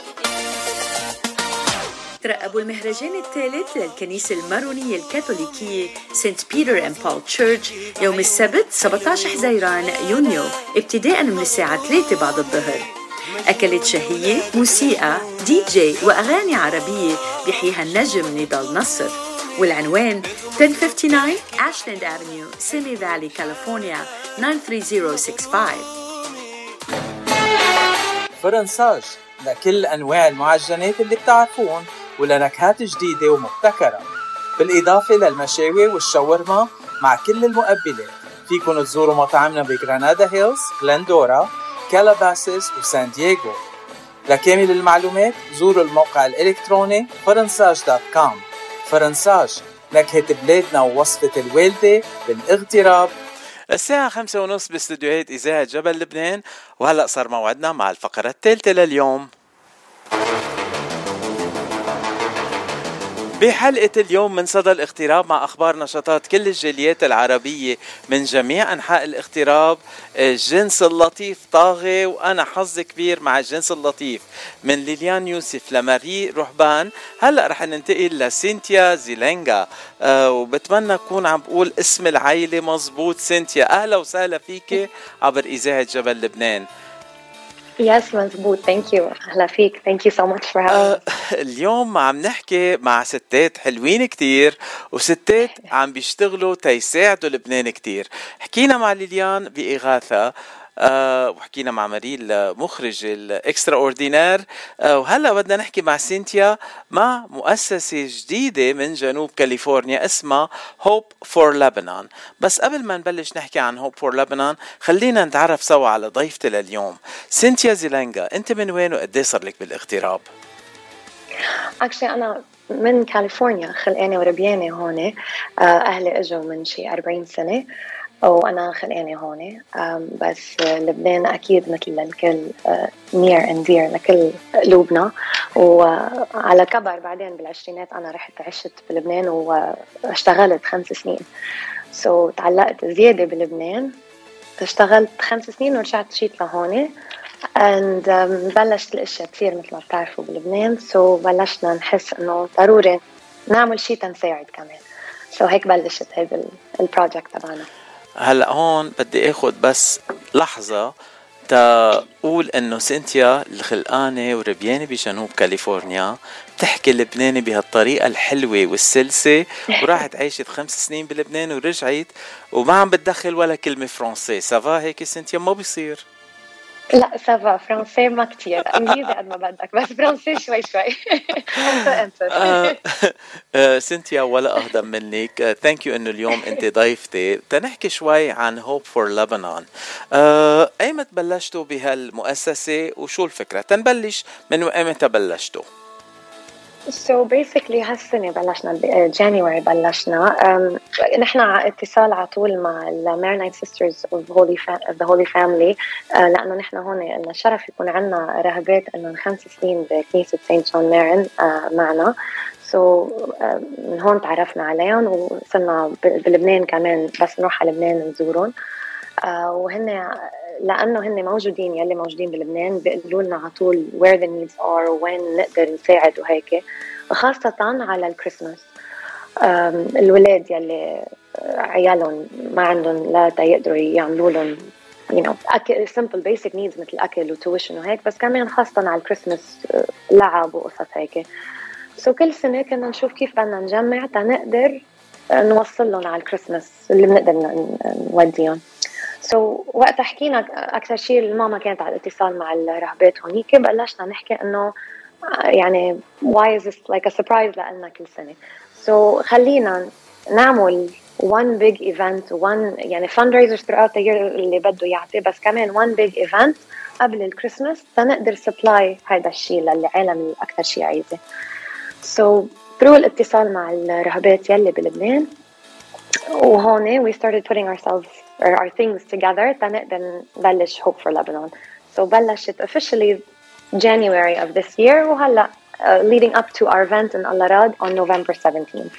ترقبوا المهرجان الثالث للكنيسة المارونية الكاثوليكية سنت بيتر اند بول تشيرش يوم السبت 17 حزيران يونيو ابتداء من الساعة 3 بعد الظهر. أكلات شهية، موسيقى، دي جي وأغاني عربية بيحييها النجم نضال نصر. والعنوان 1059 أشلاند أفنيو، سيمي فالي، كاليفورنيا 93065. فرنساج لكل أنواع المعجنات اللي بتعرفون ولنكهات جديدة ومبتكرة، بالإضافة للمشاوي والشاورما مع كل المقبلات. فيكن تزوروا مطاعمنا بغرانادا هيلز، غلندورا، كالاباسيس وسان دييغو. لكامل المعلومات زوروا الموقع الإلكتروني فرنساج.com. فرنساج، نكهة بلادنا ووصفة الوالدة بالاغتراب. الساعة 5:30 باستديوهات إذاعة جبل لبنان، وهلأ صار موعدنا مع الفقرة الثالثة لليوم. بحلقة اليوم من صدى الاغتراب مع أخبار نشاطات كل الجاليات العربية من جميع أنحاء الاغتراب. الجنس اللطيف طاغي، وأنا حظ كبير مع الجنس اللطيف. من ليليان يوسف لماري رهبان، هلأ رح ننتقل لسينتيا زيلينغا، وبتمنى أكون عم بقول اسم العائلة مزبوط. سينتيا، أهلا وسهلا فيك عبر إذاعة جبل لبنان. Yes, مزبوط. Thank you. أهلا فيك. Thank you so much for having me. اليوم عم نحكي مع ستات حلوين كتير، وستات عم بيشتغلوا تيساعدوا لبنان كتير. حكينا مع ليليان بإغاثة، وحكينا مع ماريل مخرج الإكسترا أوردينار، وهلأ بدنا نحكي مع سينتيا مع مؤسسة جديدة من جنوب كاليفورنيا اسمها Hope for Lebanon. بس قبل ما نبلش نحكي عن Hope for Lebanon، خلينا نتعرف سوا على ضيفتي لليوم. سينتيا زيلينغا، أنت من وين وقديه صار لك بالاغتراب؟ Actually أنا من كاليفورنيا، خلقانة وربيانة هون. أهلي إجوا من شي 40 سنة وأنا خلقانة هون. بس لبنان أكيد مثل الكل near and dear لكل قلوبنا. وعلى كبر بعدين بالعشرينات أنا رحت عشت بلبنان واشتغلت 5 سنين. تعلقت زيادة بلبنان، اشتغلت 5 سنين ورجعت جيت لهون. and بلشت الاشياء تصير مثل ما بتعرفوا بلبنان. بلشنا نحس انه ضروري نعمل شيء تنساعد كمان. هيك بلشت هذا البروجكت تبعنا. هلا هون بدي اخذ بس لحظة تقول انه سينتيا الخلقانة وربيانة بجنوب كاليفورنيا بتحكي لبناني بهالطريقة الحلوة والسلسة، وراحت عايشت 5 سنين بلبنان ورجعت وما عم بتدخل ولا كلمة فرنسي. سافا هيك سينتيا؟ ما بيصير. لا سافا، فرنسي ما كتير، انجليزي قد ما بدك، بس فرنسي شوي شوي. سينتيا ولا أهضم منك. ثانك يو إنه اليوم أنت ضيفتي. تنحكي شوي عن Hope for Lebanon. أيمت بلشتوا بهالمؤسسة وشو الفكرة؟ تنبلش من أيمتى بلشتوا؟ So basically هالسنة بلشنا January بلشنا. نحن اتصال على طول مع Maronite Sisters of the Holy Family، لأنه نحن هون لنا شرف يكون عنا رهبات إنه 5 سنين بكنيسة سانت جون مارن معنا. من هون تعرفنا عليهم وصرنا بلبنان كمان، بس نروح على لبنان نزورهم. وهن لأنه هن موجودين، يلي موجودين بلبنان بيقولوا لنا على طول where the needs are وين نقدر نساعد وهيك، خاصة على الكريسماس. الولاد يلي عيالهم ما عندهم لا يقدروا يعملوا لهم أكل simple basic needs مثل أكل وتويشن وهيك، بس كمان خاصة على الكريسماس لعب وقصص هيك. كل سنة كنا نشوف كيف بدنا نجمع تنقدر نوصل لهم على الكريسماس اللي بنقدر نوديهم. وقت حكينا أكثر شيء الماما كانت على الاتصال مع الرهبات هونيك، بلشنا نحكي إنه يعني why is this like a surprise لنا كل سنة. خلينا نعمل one big event يعني fundraisers throughout the year اللي بده يعطي، بس كمان one big event قبل الكريسماس تنقدر supply هذا الشيء للعالم اللي أكثر شيء عايزه. through الاتصال مع الرهبات يلي بلبنان وهون we started putting our things together تنقدر نبلش Hope for Lebanon. بلشت officially January of this year وهلا leading up to our event in Al Arad on November 17th.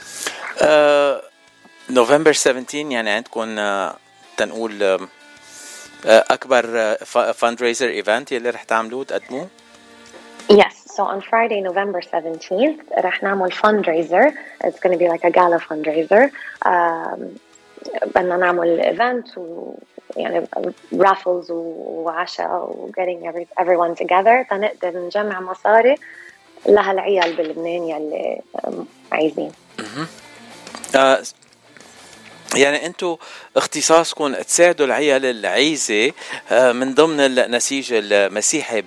November 17 يعني عندكم تنقول أكبر fundraiser event يلي رح تعملوه تقدموه؟ Yes, so on Friday, November 17th, رح نعمل fundraiser. It's going to be like a gala fundraiser. بدنا نعمل event يعني raffles وعشاء و getting everyone together تنقدر نجمع مصاري لهالعيال بلبنان يلي عايزين. يعني انتو اختصاصكم تساعدوا العيال العايزة من ضمن النسيج المسيحي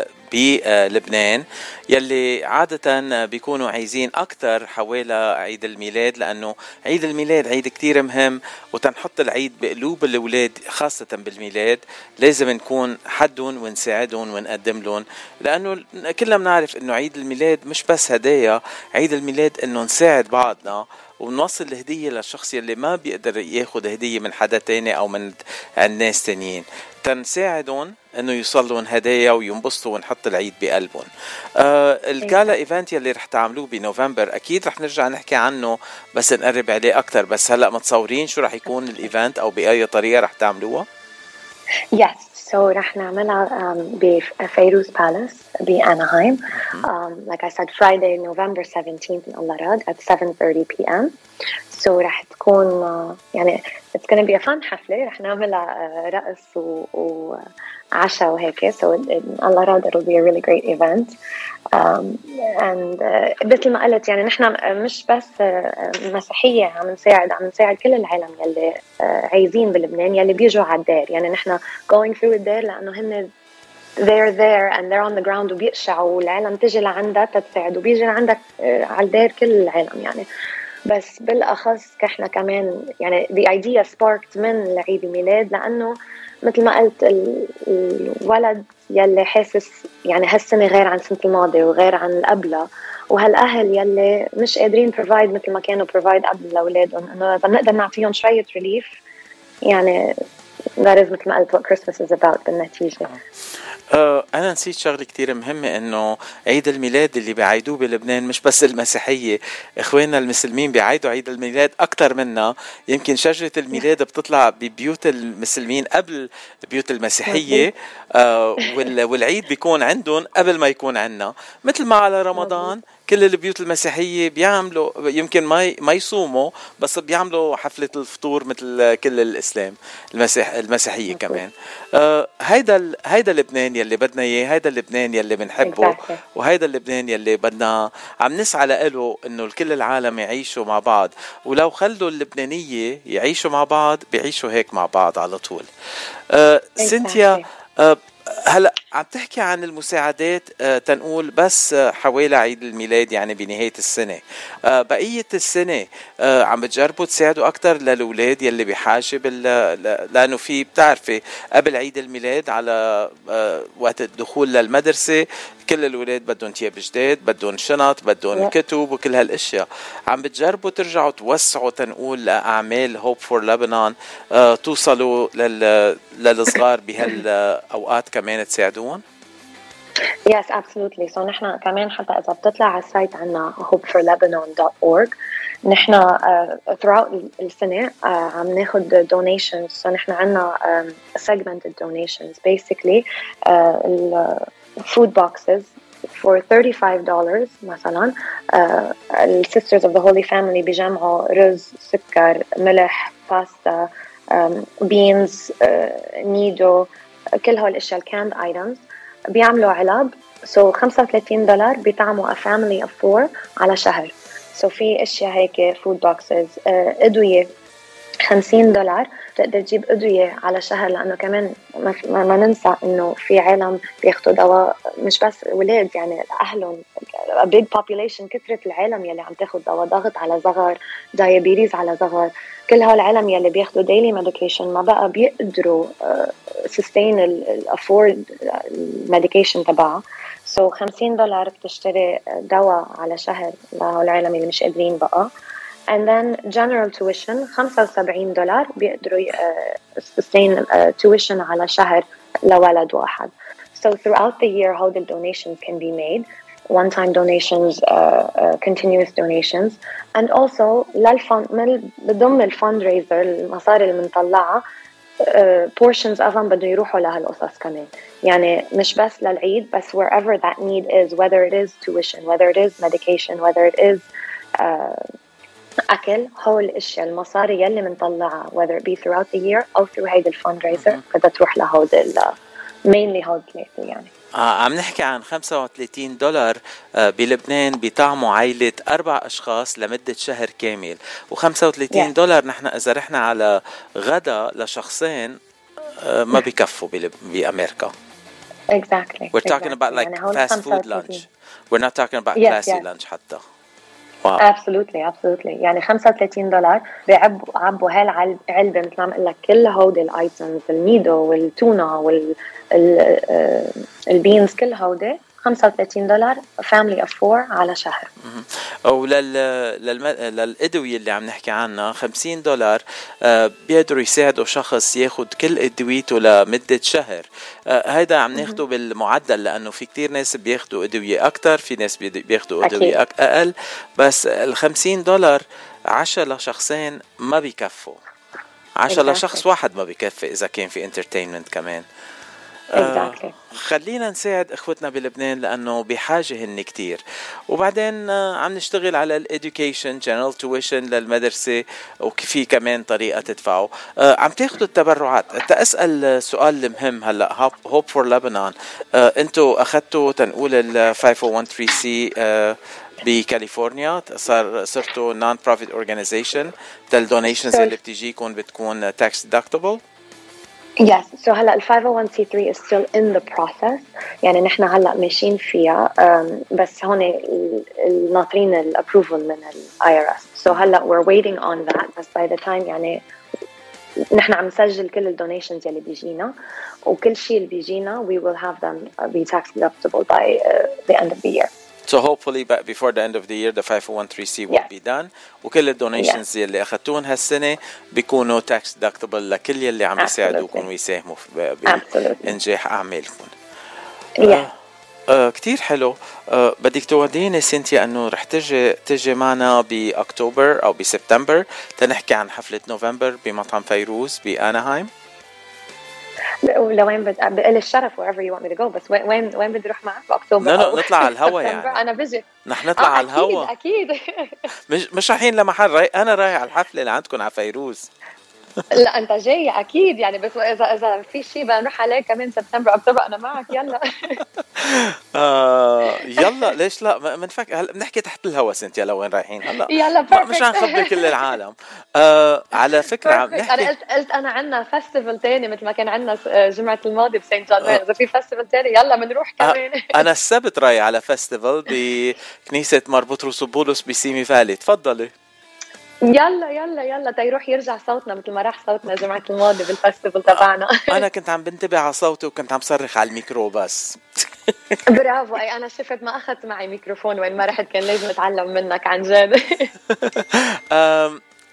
بلبنان يلي عادة بيكونوا عايزين أكتر حوالي عيد الميلاد، لأنه عيد الميلاد عيد كتير مهم، وتنحط العيد بقلوب الأولاد خاصة بالميلاد لازم نكون حدهم ونساعدهم ونقدم لهم، لأنه كلنا بنعرف أنه عيد الميلاد مش بس هدايا، عيد الميلاد أنه نساعد بعضنا ونوصل الهدية للشخص اللي ما بيقدر ياخد هدية من حدا تاني أو من الناس تانيين، تنساعدهم انه يوصلون هدايا وينبسطوا ونحط العيد بقلبهم. الجالا ايفنت يلي رح تعملوه بنوفمبر اكيد رح نرجع نحكي عنه بس نقرب عليه اكتر، بس هلا متصورين شو رح يكون الايفنت او باي طريقه رح تعملوها؟ Yes, رح نعملها بفيروز بالاس بأناهايم. Like I said, Friday, November 17th in Al Arad at 7:30 p.m. رح تكون يعني it's going to be a fun حفلة. رح نعملها رقص وعشاء وهيك. In Al Arad it'll be a really great event. And مثل ما قلت يعني نحن مش بس مسيحية عم نساعد كل العالم يلي عايزين بلبنان يلي بيجوا على الدار. يعني نحن going through الدار لأنه هن they're there and they're on the ground وبيقشعوا والعالم تجي لعندك تتساعد وبيجي لعندك على الدار كل العالم يعني. بس بالأخص احنا كمان يعني the idea sparked من عيد الميلاد لأنه مثل ما قلت الولد يلي حاسس يعني هالسنة غير عن السنة الماضية وغير عن القبلة، وهالأهل يلي مش قادرين provide مثل ما كانوا provide قبل لأولادهم، إنه نقدر نعطيهم شوية relief يعني that is مثل ما قلت what Christmas is about بالنتيجة. أنا نسيت شغلة كتير مهمة، إنه عيد الميلاد اللي بيعيدوه بلبنان مش بس المسيحية، إخواننا المسلمين بيعيدوا عيد الميلاد أكتر منا. يمكن شجرة الميلاد بتطلع ببيوت المسلمين قبل بيوت المسيحية، والعيد بيكون عندهم قبل ما يكون عنا. مثل ما على رمضان كل البيوت المسيحية بيعملوا يمكن ما يصوموا بس بيعملوا حفلة الفطور مثل كل الإسلام المسيحية كمان. هيدا لبنان يلي بدنا إياه، هيدا لبنان يلي بنحبه، وهيدا لبنان يلي بدنا عم نسعى له إنه كل العالم يعيشوا مع بعض. ولو خلوا اللبنانية يعيشوا مع بعض بيعيشوا هيك مع بعض على طول. سينتيا، هلا عم تحكي عن المساعدات تنقول بس حوالي عيد الميلاد يعني بنهاية السنة، بقية السنة عم بتجربوا تساعدوا أكتر للأولاد يلي بحاجة لأنه في بتعرفي قبل عيد الميلاد على وقت الدخول للمدرسة كل الأولاد بدهم تياب جداد، بدهم شنط، بدهم كتب وكل هالأشياء. عم بتجربوا ترجعوا توسعوا تنقول لأعمال Hope for Lebanon توصلوا للصغار بهالأوقات كمان تساعدون؟ Yes, absolutely. So نحن كمان حتى إذا بتطلع على السايت عنا hopeforlebanon.org نحن throughout السنة عم ناخد donations. So نحن عنا segmented donations. Basically food boxes for $35 مثلا. Sisters of the Holy Family بيجمعوا رز، سكر، ملح، باستا، beans, نيدو، كل هول الاشياء canned items بيعملوا علب. So $35 بيطعموا a family of 4 على شهر. So في اشياء هيك food boxes. ادوية $50 بتقدر تجيب ادوية على شهر، لانه كمان ما ننسى انه في عالم بياخدوا دواء، مش بس ولاد يعني اهلهم a big population. كثرة العالم يلي عم تاخد دواء ضغط على صغر، diabetes على صغر، كل هالعالم يلي بياخدوا daily medication ما بقى بيقدروا sustain afford medication تبعها. So $50 بتشتري دواء على شهر لهالعالم اللي مش قادرين بقى. And then general tuition $75 بيقدروا sustain tuition على شهر لولد واحد. So throughout the year how the donations can be made, one-time donations, continuous donations, and also بضم الفاندريزر المصاري اللي بنطلعها portions of them بدهم يروحوا لهالقصص كمان. يعني مش بس للعيد بس wherever that need is, whether it is tuition, whether it is medication, whether it is أكل، هول الأشياء المصاري يلي بنطلعها whether it be throughout the year أو through هيدا الفاندريزر بدها تروح لهود mainly هود ثلاثة يعني. عم نحكي عن $35 بلبنان بيطعموا عائلة 4 أشخاص لمدة شهر كامل، $35 نحن إذا رحنا على غدا لشخصين ما بيكفوا بأمريكا. Exactly. We're talking about like fast food lunch. We're not talking about classy lunch حتى. Wow. Absolutely. يعني $35 بيعبوا هالعلبة مثل ما قلت لك كل هودي الايتمز، الميدو والتونة والبينز، كل هودي $35 family of 4 على شهر. أو للأدوية اللي عم نحكي عنها $50 بيقدروا يساعدوا شخص ياخد كل أدويته لمدة شهر. هيدا عم ناخده بالمعدل، لأنه في كتير ناس بياخدوا أدوية أكتر، في ناس بياخدوا أدوية أقل، بس $50 10 لشخصين ما بيكفوا. 10 لشخص واحد ما بيكفي إذا كان في entertainment كمان. خلينا نساعد اخوتنا بلبنان لانه بحاجه هن كتير. وبعدين عم نشتغل على الاديوكيشن جنرال تويشن للمدرسه، وفي كمان طريقه تدفعوا. عم تاخذوا التبرعات. اسال سؤال مهم هلا، هوب فور لبنان انتوا اخذتوا تنقول ال 501(c)(3) بكاليفورنيا، صرتوا نون بروفيت اورجانيزيشن. الدونيشنز اللي بتجيكم بتكون تاكس ديدكتبل. Yes, so هلا ال 501(c)(3) is still in the process. يعني نحن هلا ماشيين فيها بس هون ناطرين الابروفل من ال IRS. So هلا we're waiting on that. بس by the time يعني نحن عم نسجل كل الدونيشنز يلي بيجينا، وكل شيء اللي بيجينا we will have them be tax deductible by the end of the year. So hopefully before the end of the year the 501(c)(3) will be done. وكل الدونيشنز اللي أخذتوهم هالسنة بيكونوا tax deductible لكل يلي عم يساعدوكم ويساهموا بإنجاح أعمالكم. كتير حلو. بدك توديني سنتيا أنه رح تجي معنا بأكتوبر أو بسبتمبر تنحكي عن حفلة نوفمبر بمطعم فيروز بأناهايم. لوين بقل الشرف wherever you want me to go. بس وين بدي اروح معك باكتوبر؟ لا نطلع على الهوا يعني. انا بيجي نحن نطلع على الهوا اكيد مش رايحين لمحل انا رايح على الحفله اللي عندكم على فيروز. لا انت جاي اكيد يعني، بس اذا في شيء بنروح عليه كمان سبتمبر اكتوبر انا معك. يلا يلا ليش لا منفك. هلا بنحكي تحت الهوا سنتيا لوين رايحين هلا. يلا مش هنخبر كل العالم. على فكره عم نحكي. انا قلت انا عندنا فestival تاني مثل ما كان عندنا جمعه الماضي بسانت جون. اذا في فestival تاني يلا بنروح كمان. انا السبت رايح على فestival بكنيسه مار بطرس وبولس بسيمي فالي. تفضلي. يلا تيروح يرجع صوتنا مثل ما راح صوتنا جمعة الماضي بالفستيفال تبعنا. أنا كنت عم بنتبه على صوتي وكنت عم صرخ على الميكرو بس. برافو. أي أنا شفت ما أخذت معي ميكروفون وين ما رحت، كان لازم أتعلم منك عن جد.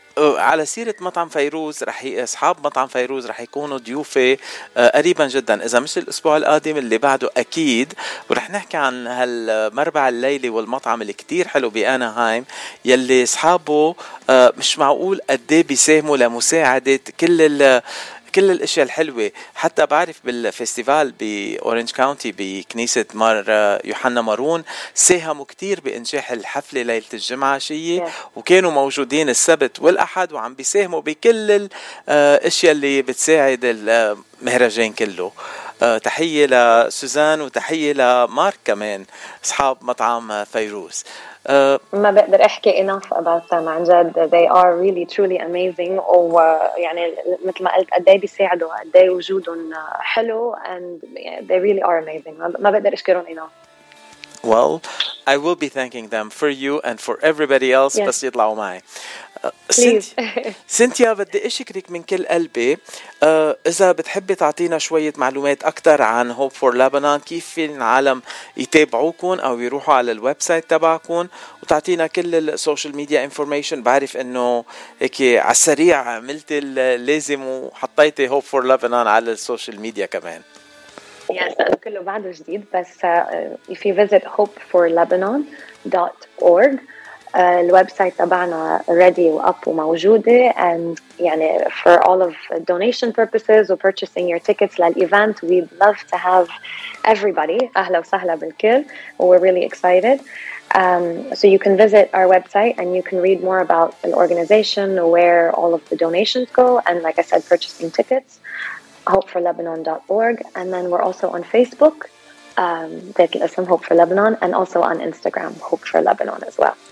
على سيرة مطعم فيروز أصحاب مطعم فيروز رح يكونوا ضيوفي قريبا جدا، إذا مش الأسبوع القادم اللي بعده أكيد، ورح نحكي عن هالمربع الليلي والمطعم اللي كتير حلو بأناهايم يلي أصحابه مش معقول قديه بيساهموا لمساعدة كل الاشياء الحلوة. حتى بعرف بالفستيفال بأورنج كاونتي بكنيسة مار يوحنا مارون ساهموا كتير بإنجاح الحفلة ليلة الجمعة شيء، وكانوا موجودين السبت والأحد وعم بيساهموا بكل الاشياء اللي بتساعد المهرجان كله. تحية لسوزان وتحية لمارك كمان أصحاب مطعم فيروز. ما بقدر احكي enough about them عن جد. they are really truly amazing، ويعني مثل ما قلت قدي بيساعدوا، قدي وجودهم حلو and they really are amazing. ما بقدر اشكرهم enough. Well, I will be thanking them for you and for everybody else. Yes. بس يطلعوا معي. Please. سنتيا بدي أشكرك من كل قلبي. إذا بتحبي تعطينا شوية معلومات أكتر عن Hope for Lebanon، كيف في العالم يتابعوكم أو يروحوا على الويب سايت تبعكم، وتعطينا كل السوشيال ميديا انفورميشن. بعرف إنه هيك على السريع عملت اللازم وحطيتي Hope for Lebanon على السوشيال ميديا كمان. Yes, كله بعده جديد، بس if you visit hopeforlebanon.org الويب سايت تبعنا ready واب وموجودة، and يعني for all of donation purposes و purchasing your tickets للإيفنت. we'd love to have everybody. أهلا وسهلا بالكل. we're really excited. So you can visit our website and you can read more about the organization, where all of the donations go, and like I said, purchasing tickets. hopeforlebanon.org, and then we're also on Facebook, ذات الاسم Hope for Lebanon, and also on Instagram Hope for Lebanon as well.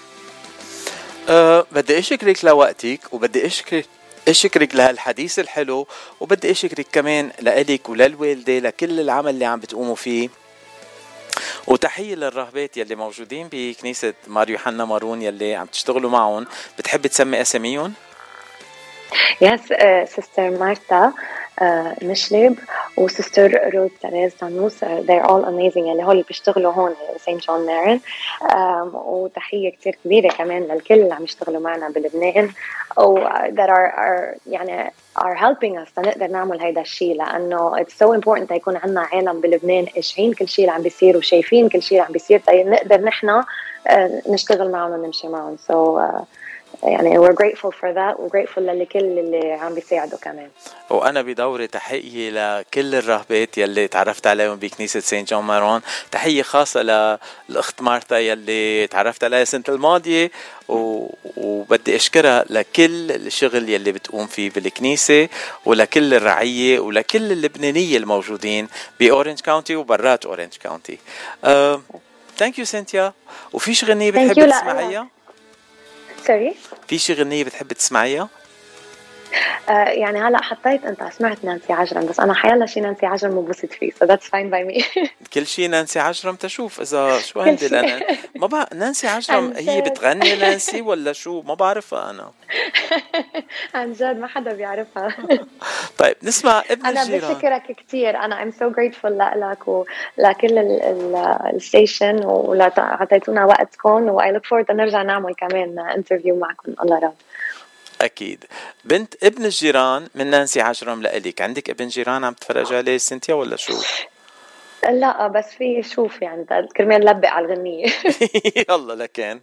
بدي أشكرك لوقتك، وبدي أشكرك لهالحديث الحلو، وبدي أشكرك كمان لإلك وللوالدة لكل العمل اللي عم بتقوموا فيه. وتحية للراهبات يلي موجودين بكنيسة مار يوحنا مارون يلي عم تشتغلوا معهم. بتحب تسمي أساميهم؟ Yes, Sister Marta مشلب وسيستر روز تريز تانوس. they're all amazing. اللي هول بيشتغلوا هون سين جون مارن. وتحية كتير كبيرة كمان للكل اللي عم يشتغلوا معنا بلبنان أو that are يعني are helping us نقدر نعمل هيدا الشيء، لأنه it's so important يكون عنا عالم بلبنان قاشعين كل شيء اللي عم بيصير وشايفين كل شيء اللي عم بيصير نقدر نحنا نشتغل معهم ونمشي معهم. so يعني we're grateful for that و grateful لكل اللي عم بيساعدوا كمان. وأنا بدوري تحية لكل الراهبات يلي تعرفت عليهم بكنيسة سين جون مارون. تحية خاصة للأخت مارتا يلي تعرفت عليها السنة الماضية، وبدي أشكرها لكل الشغل يلي بتقوم فيه بالكنيسة، ولكل الرعية ولكل اللبنانية الموجودين بأورنج كاونتي وبرات أورنج كاونتي. thank you سنتيا. وفيش غنية بتحب تسمعيها؟ sorry؟ فيش غنية بتحب تسمعيها؟ يعني هلا حطيت انت سمعت نانسي عجرم، بس انا حيلا شي نانسي عجرم مبسط فيه so that's fine by me. كل شيء نانسي عجرم تشوف اذا شو عندي انا ما بعرف. نانسي عجرم هي بتغني نانسي ولا شو؟ ما بعرفها انا. عن جد ما حدا بيعرفها. طيب نسمع ابن أنا الجيران. أنا بشكرك كتير. أنا I'm so grateful لك ولكل الستيشن وعطيتونا وقتكم و I look forward نرجع نعمل كمان انترفيو معكم. الله راد. أكيد. بنت ابن الجيران من نانسي عجرم لإلك. عندك ابن جيران عم تفرج عليه سنتيا ولا شو؟ لا بس في شوف يعني كرمال لبق على الغنية. يلا لكن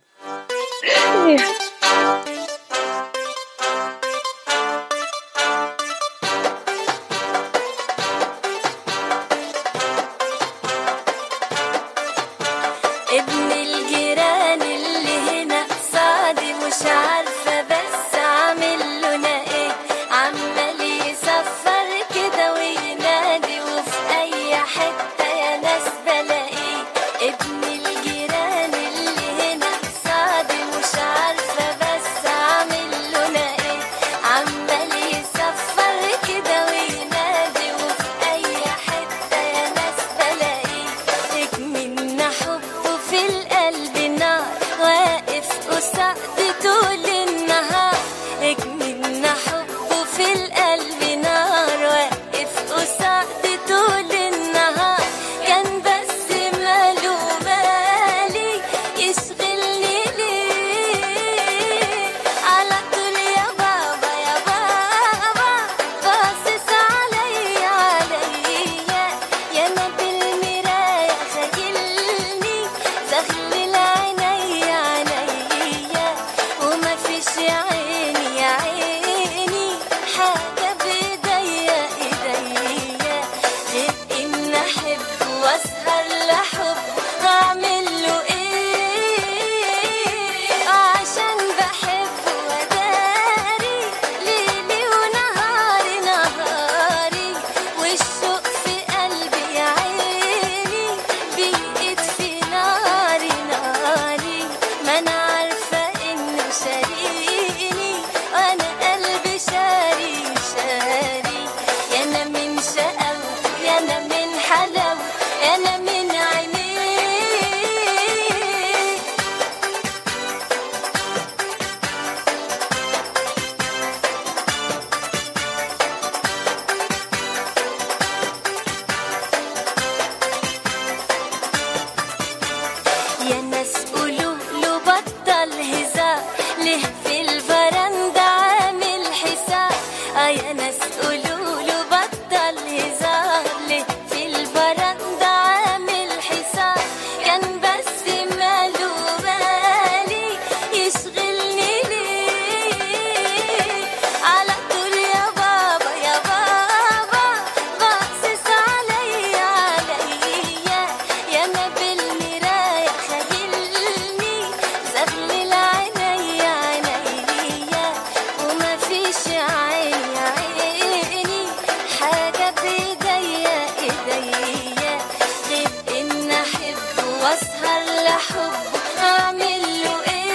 ابن الجيران اللي هنا صادي مش عارفة بس عامل لنا ايه، عمال يصفر كده وينادي وفي اي حتة يا ناس بلاقيه. ابن الجيران اللي هنا صادي مش عارفة قولوله بطل هزار ليه في البرندة عامل حصار كان بس ماله بالي يشغلني ليه على طول يا بابا يا بابا باصص عليا يا ما بالمراية خيلني زغلل عينيا وما فيش عيني حاجة بإيديا غير إن أحبه وأسهر لحبه أعمل له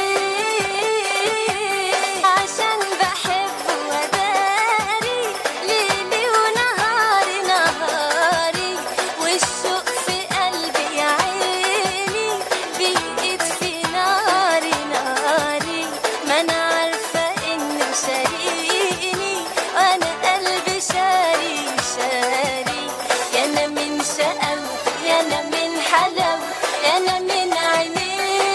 إيه عشان بحبه وداري ليلي ونهاري والشوق في قلبي يا عيني بيقيد في ناري ما أنا عارفة إنه شاريني وأنا قلبي شاري يا أنا من شقاوته يا أنا من حلاوته يا أنا من عينيه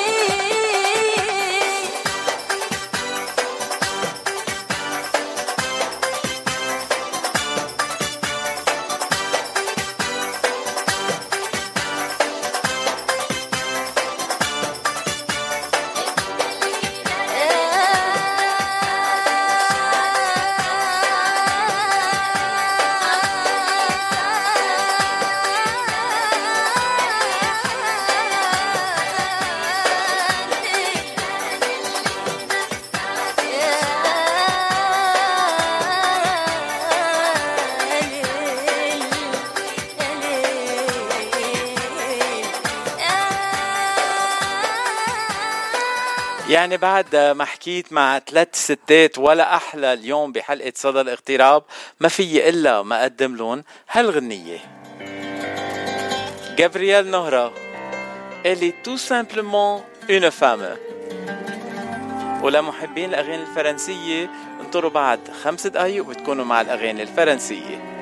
يعني بعد ما حكيت مع 3 ستات ولا أحلى اليوم بحلقة صدى الاغتراب ما في إلا ما أقدم لهم هالغنية. Gabrielle Nohra, elle est tout simplement une femme. ولمحبين الأغاني الفرنسية انطروا بعد 5 دقايق وتكونوا مع الأغاني الفرنسية.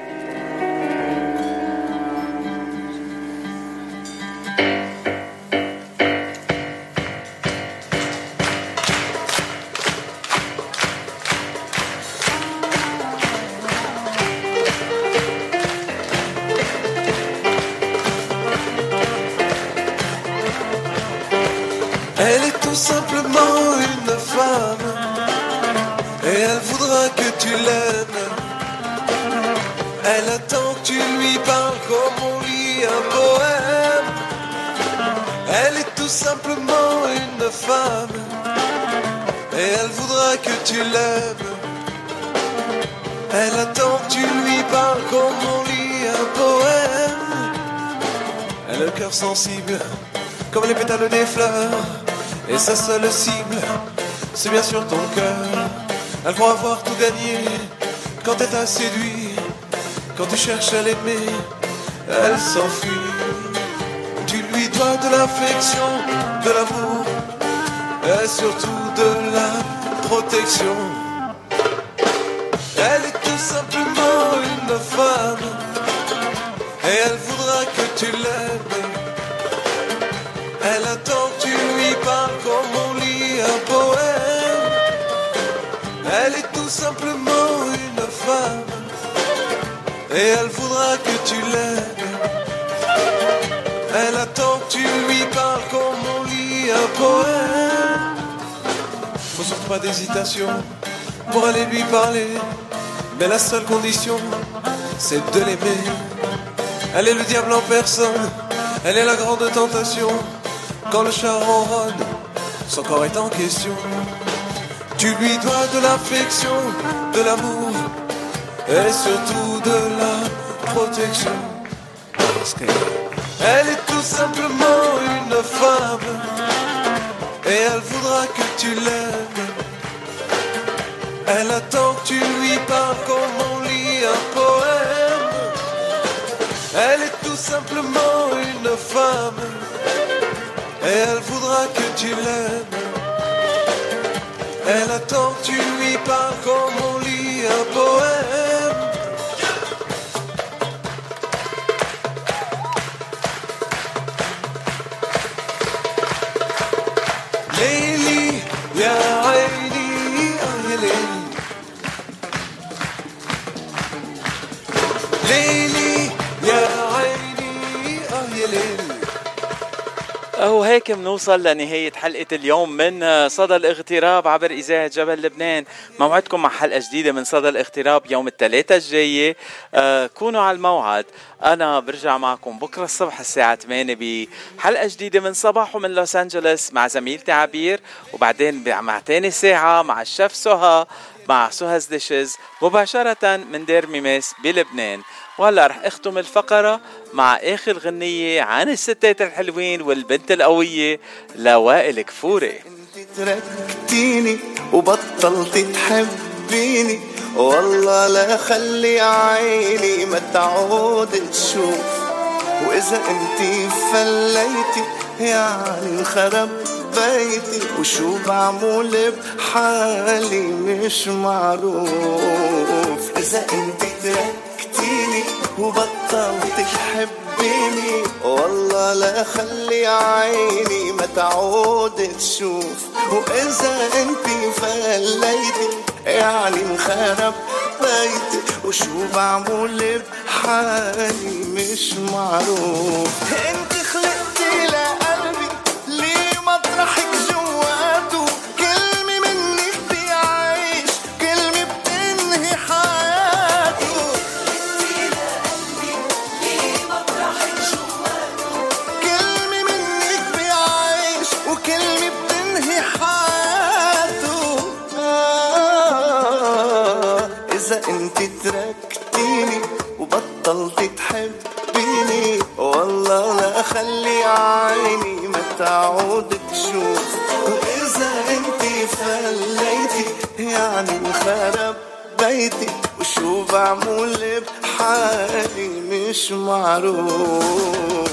Elle est tout simplement une femme et elle voudra que tu l'aimes. Elle attend que tu lui parles comme on lit un poème. Elle est tout simplement une femme et elle voudra que tu l'aimes. Elle attend que tu lui parles comme on lit un poème. Elle a le cœur sensible comme les pétales des fleurs. Et sa seule cible, c'est bien sûr ton cœur. Elle croit avoir tout gagné quand elle t'a séduit. Quand tu cherches à l'aimer, elle s'enfuit. Tu lui dois de l'affection, de l'amour et surtout de la protection. Elle est tout simplement une femme et elle voudra que tu l'aimes. Elle attend que tu lui parles comme on lit un poème. Elle est tout simplement une femme et elle voudra que tu l'aimes. Elle attend que tu lui parles comme on lit un poème. Faut surtout pas d'hésitation pour aller lui parler, mais la seule condition, c'est de l'aimer. Elle est le diable en personne, elle est la grande tentation. Quand le chat ronronne, son corps est en question. Tu lui dois de l'affection, de l'amour et surtout de la protection. Parce qu'elle est tout simplement une femme et elle voudra que tu l'aimes. Elle attend que tu lui parles comme on lit un poème. Elle est tout simplement une femme et elle voudra que tu l'aimes. Elle attend que tu lui parles comme on lit un poème. Léli, ya Aïni, ya Léli. ليلي يا عيني يا ليلي. وهيك منوصل لنهاية حلقة اليوم من صدى الاغتراب عبر إذاعة جبل لبنان. موعدكم مع حلقة جديدة من صدى الاغتراب يوم الثلاثاء الجاية. كونوا على الموعد. أنا برجع معكم بكرة الصبح الساعة 8 بحلقة جديدة من صباحه من لوس أنجلوس مع زميلتي عبير، وبعدين مع تاني ساعة مع الشيف سهى مع سهاز ديشز مباشرة من دير ميميس بلبنان. وهلا رح اختم الفقرة مع اخر غنية عن الستات الحلوين والبنت القوية لوائل كفوري. انت تركتيني وبطلت تحبيني، والله لا خلي عيني ما تعود تشوف، واذا انت فليتي يعني انخرب بيتي، وشو بعمل بحالي مش معروف. اذا انت تركتيني وبطلت تحبيني، والله لا خلي عيني ما تعود تشوف، واذا انت فليتي يعني انخرب بيتي، وشو بعمل بحالي مش معروف. انت خلقتي لقلبي ليه مطرحك جواته، كلمة منك بيعيش كلمة بتنهي حياته. ليه مطرحك جواته، كلمة منك بيعيش وكلمة بتنهي حياته. إذا انت تركتيني وبطلت تحبيني، والله لا خلي عيني ما تعود تشوف، وإذا انت فليتي يعني انخرب بيتي، وشو بعمل بحالي مش معروف.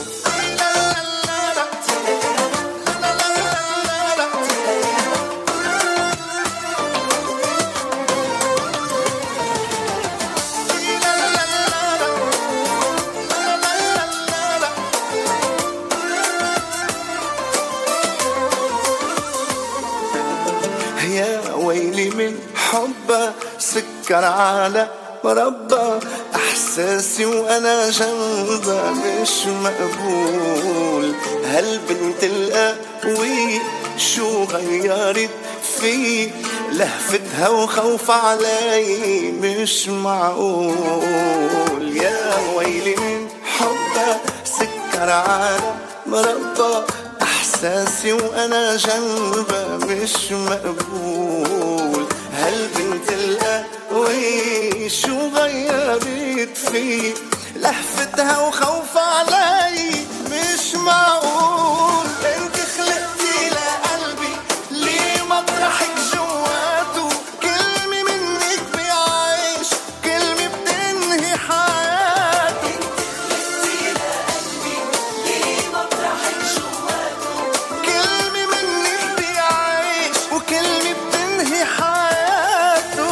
ويلي من حبه سكر على مربى، احساسي وانا جنبه مش مقبول. هالبنت القوية شو غيرت في، لهفتها وخوف علي مش معقول. يا ويلي من حبه سكر على مربى، احساسي وانا جنبه مش مقبول. هالبنت القوية شو غيرت فيه، لهفتها وخوف علي مش معقول. انت خلقتي لقلبي ليه مطرحك جواته، كلمة منك بيعيش كلمة بتنهي حياته. انت خلقتي لقلبي ليه مطرحك جواته، كلمة منك بيعيش وكلمة بتنهي حياته.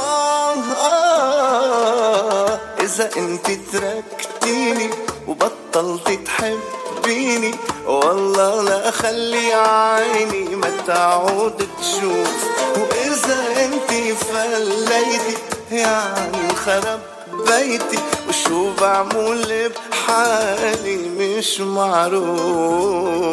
إذا انت تركتيني وبطلت تحبيني، والله لا خلي عيني ما تعود تشوف، وإذا انت فليتي يعني انخرب بيتي، وشو بعمل بحالي مش معروف.